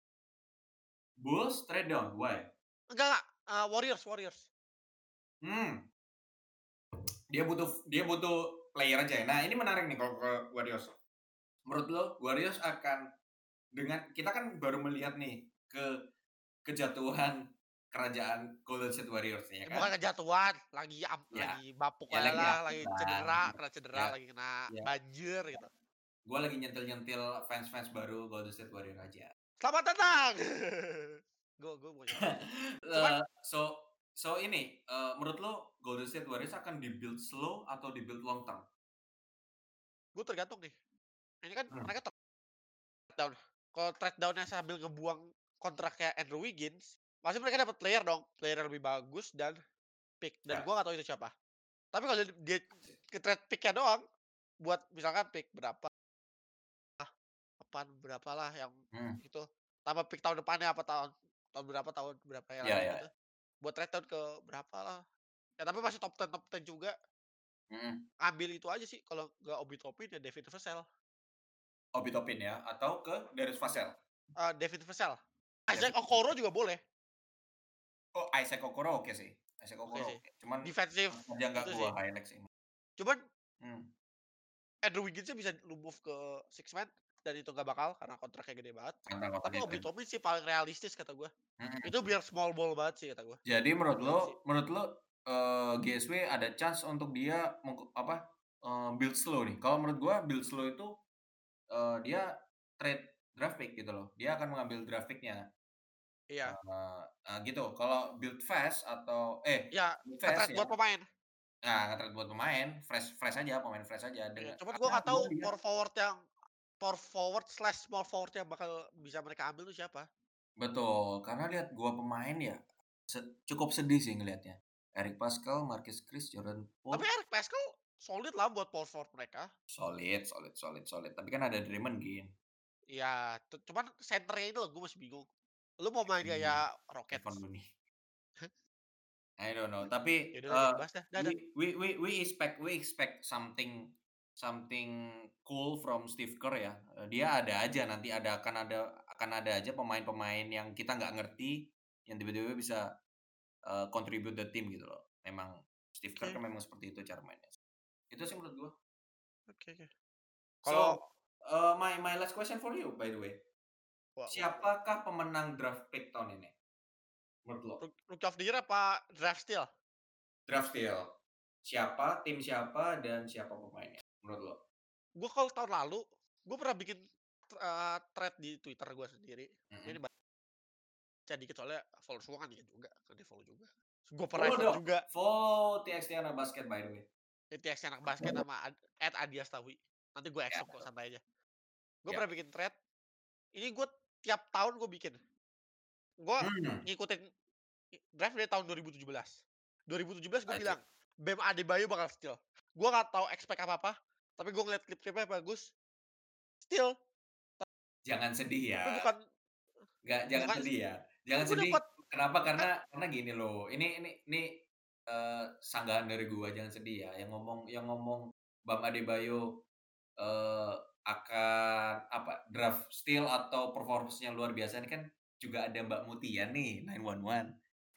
Bulls trade down, why? Enggak enggak, eee, Warriors Warriors. Mmm, dia butuh dia butuh player aja ya. Nah ini menarik nih kalau ke Warriors. Menurut lo Warriors akan dengan kita kan baru melihat nih ke kejatuhan kerajaan Golden State Warriors nih ya Ya kan? bukan kejatuhan, lagi am Ya, lagi bapuk ya aja lagi lah, aktif lagi lah, cedera, kena cedera, ya lagi kena ya banjir ya, gitu. gua lagi nyentil-nyentil fans-fans baru Golden State Warriors aja. Selamat datang! Gue gue bukan nyentil sih. Cuman Eee, so so ini, eee, menurut lo Golden State Warriors akan di-build slow atau di-build long term? gue tergantung nih, ini kan Mmm, mereka trade down. Kalau trade down-nya sambil ngebuang kontraknya Andrew Wiggins, pasti mereka dapat player dong, player yang lebih bagus dan pick, dan ya, gue nggak tahu itu siapa. Tapi kalau dia ke-trade pick-nya doang, buat misalkan pick berapa, apaan berapalah yang mmm, itu, tambah pick tahun depannya apa tahun tahun berapa tahun berapa yang iya lagi iya, gitu, buat trade down ke berapa lah. Ya tapi masih top sepuluh top sepuluh juga, mhm. ambil itu aja sih kalau nggak Obi Toppin ya David Vassell, Obi Toppin ya atau ke Darius Vassell? eee, David Vassell. David Isaac Okoro Vassell. juga boleh, Oh, Isaac Okoro oke sih, Isaac oke Okoro sih. oke, cuman Defensif tetep aja nggak itu gua sih. highlight sih. Cuman Mmm, Andrew Wiggins-nya bisa lu move ke six man dan itu nggak bakal karena kontraknya gede banget. tentang Tapi kompetitif. Obi Toppin sih paling realistis kata gua. Itu Mhm. biar small ball banget sih kata gua. Jadi menurut Itu lo aja sih. menurut lo, eee, G S W ada chance untuk dia mengku apa, eee, build slow nih? Kalau menurut gua build slow itu, eee, dia trade draft pick gitu loh. Dia akan mengambil draft pick-nya, Iya. eee eee, gitu. Kalau build fast atau eh, Iya, build fast nge-trade ya, buat pemain. nah nge-trade buat pemain, fresh fresh aja, pemain fresh aja Iya, dengan cuman gua karena nggak tahu memang dia power forward yang power forward slash small forward yang bakal bisa mereka ambil tuh siapa. betul, karena lihat gua pemain ya, se cukup sedih sih ngelihatnya. Eric Paschall, Marquese Chriss, Jordan Tapi Poole, Eric Paschall solid lah buat power forward mereka. solid solid solid solid, tapi kan ada Draymond Green, Iya, tu cuman senternya itu loh gua masih bingung. Lu mau main Looney, kayak Kevon Rockets? Looney. I don't know, Ya tapi, udahlah eee, jangan dibahas dah, dah we dah. we we we expect we expect something something cool from Steve Kerr ya, eee, dia ada aja nanti ada akan ada akan ada aja pemain-pemain yang kita nggak ngerti, yang tiba-tiba bisa, eee, contribute the team gitu loh. Memang Steve Kerr Oke, kan memang seperti itu cara mainnya. Itu sih menurut gua. oke oke. Kalau So, eee, my my last question for you by the way, wah wah wah, siapakah pemenang draft pick tahun ini menurut lo? Rook Rookie of the Year apa draft steal? Draft steal, siapa, tim siapa, dan siapa pemainnya menurut lo? Gua kalau tahun lalu, gua pernah bikin, eee, thread di Twitter gua sendiri. Ini Mhm. baca dikit soalnya followers gua kan dikit juga, kan di-follow juga. Gua Follow private dong, juga. follow T X T Anak Basket by the way. T T X Anak Basket sama ad at @adiastawi. Nanti gue Ya accept kok, santai aja. Gue ya. pernah bikin thread, ini gue tiap tahun gue bikin. Gue Mmm, ngikutin i draft dari tahun dua ribu tujuh belas. dua ribu tujuh belas gue I see. bilang, Bam Adebayo bakal steal. Gue nggak tahu expect apa-apa, tapi gue ngeliat klip-klipnya bagus, steal. Jangan sedih ya, Tapi bukan nggak jangan bukan sedih ya, kan jangan gue sedih. dapat Kenapa? kan Karena karena gini loh, ini ini ini, eee, sanggahan dari gua, jangan sedih ya, yang ngomong yang ngomong Bam Adebayo, eee, akan apa, draft steal atau performance-nya luar biasa ini kan juga ada Mbak Mutia nih, sembilan satu satu.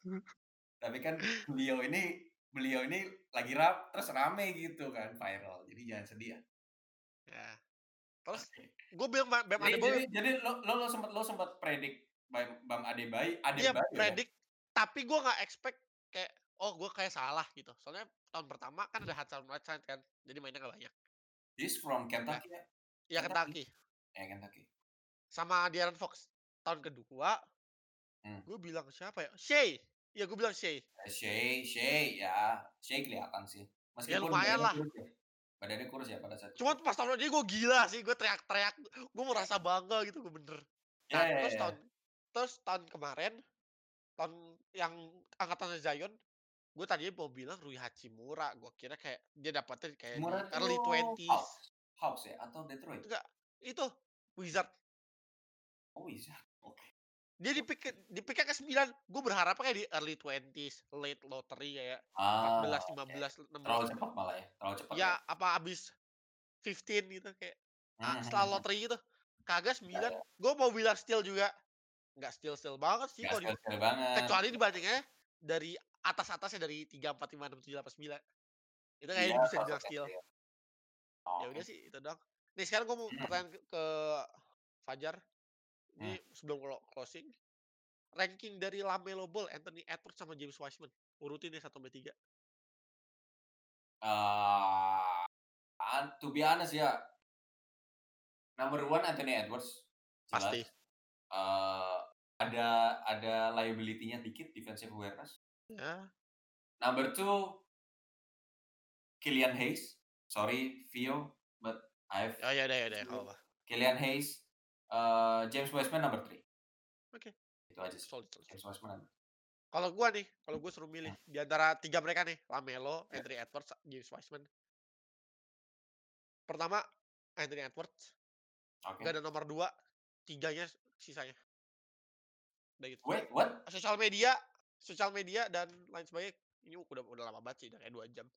Tapi kan beliau ini beliau ini lagi rap terus rame gitu kan, viral. Jadi jangan sedih ya. ya, terus Oke. gue bilang Ba Bam Jadi jadi Adebayo, jadi lo lo lo sempet lo sempet predik Bam Bam Adebayo dia Adebayo ya? predik, tapi gue nggak expect kayak, oh gue kayak salah gitu. Soalnya tahun pertama kan ada Hassan Whiteside kan, jadi mainnya nggak banyak. He's from Nah, Kentucky ya? ya Kentucky? Kentucky. Ya Kentucky. Sama De'Aaron Fox. Tahun kedua, Mmm. gue bilang siapa ya? Shea. Iya gue bilang Shea. Eee, Shea Shea ya, Shea kelihatan sih. Ya Meskipun lumayan badannya lah. kurus ya. Badannya kurus ya pada saat itu? Cuman pas tahun ini gue gila sih, gue teriak-teriak, gue merasa bangga gitu, gue bener. Iya Nah, iya terus tahun iya. terus tahun kemarin, tahun yang angkatannya Zion, gue tadinya mau bilang Rui Hachimura, gue kira kayak dia dapatnya kayak Hachimura di tuh early twenties. Hawks Hawks ya atau Detroit? Enggak, itu Wizard. Oh Wizard, oke. Dia di-pick ke di-pick-nya ke sembilan, gue berharapnya kayak di early twenties, late lottery kayak empat Ah, belas, lima oke. belas, enam belas Terlalu gitu. cepat malah ya, terlalu cepat ya? Ya, apa abis fifteen gitu kayak, Mhm a mhm setelah mhm. lottery gitu. Kagak Iya sembilan, iya. gue mau bilang steal juga, nggak steal-steal banget sih Nggak kalau di skill-skill banget. kecuali dibandingnya dari atas-atasnya dari tiga, empat, lima, enam, tujuh, delapan, sembilan. Itu kayaknya Dia bisa dibilang sosoknya steal. skill. Ya Oke. udah sih itu doang. Nih sekarang gue mau Mhm. pertanyaan ke ke Fajar, Mhm. ini sebelum clo closing, ranking dari LaMelo Ball, Anthony Edwards, sama James Wiseman, urutin deh satu sampai tiga. Eee, an to be honest ya, number one Anthony Edwards, jelas. Pasti. Eee, ada ada liability-nya dikit, defensive awareness. Ya. Number two Killian Hayes. Sorry Vio, but I've Oh, ya udah ya udah, choose nggak you. apa-apa. Killian Hayes, eee, James Wiseman number three. Oke, Itu aja sih. solid solid. James Wiseman number Kalau gua nih, kalau gua suruh milih mhm, di antara tiga mereka nih, LaMelo, ya, Anthony Edwards, James Wiseman. Pertama, Anthony Edwards, nggak oke. ada nomor dua, tiganya sisanya. Udah gitu. Wait, what? Sosial media sosial media dan lain sebagainya, ini udah udah lama banget sih, udah kayak dua jam.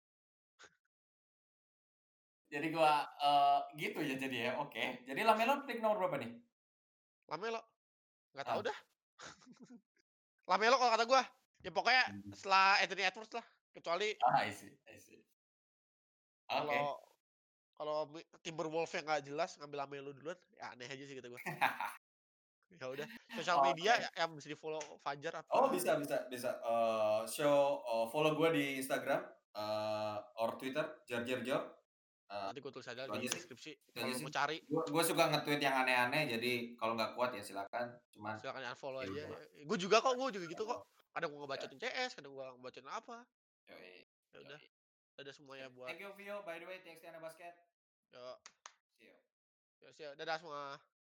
Jadi gua, eee, gitu ya jadi ya, oke. Jadi Lamelo pick nomor berapa nih? LaMelo, nggak tahu Ah, dah. LaMelo kalau kata gua, ya pokoknya mhm. setelah Anthony Edwards lah, kecuali Ah, I see I see. Oke. kalau kalau mi Timberwolves yang nggak jelas ngambil LaMelo duluan, ya aneh aja sih kata gua. Ya udah, sosial media Oke. ya yang bisa di-follow Fajar Oh, apa? bisa bisa bisa, eee, show eee, follow gua di Instagram, eee, or Twitter, jorjorjor, eee, Nanti gua tulis aja itu di aja sih deskripsi itu aja kalau lu sih. mau cari. Gua gua suka nge-tweet yang aneh-aneh, jadi kalau nggak kuat ya silakan, cuman Silakan unfollow ya aja udahlah, ya. Gue juga kok, gue juga gitu kok. unfollow. Kadang gue Ya, ngebacotin C S, kadang gue ngebacotin apa. yoi Ya udah, yoi. ada semuanya Sip. buat Thank you Vio, by the way, thanks Tiana Basket. ya, See you. ya, dadah semua.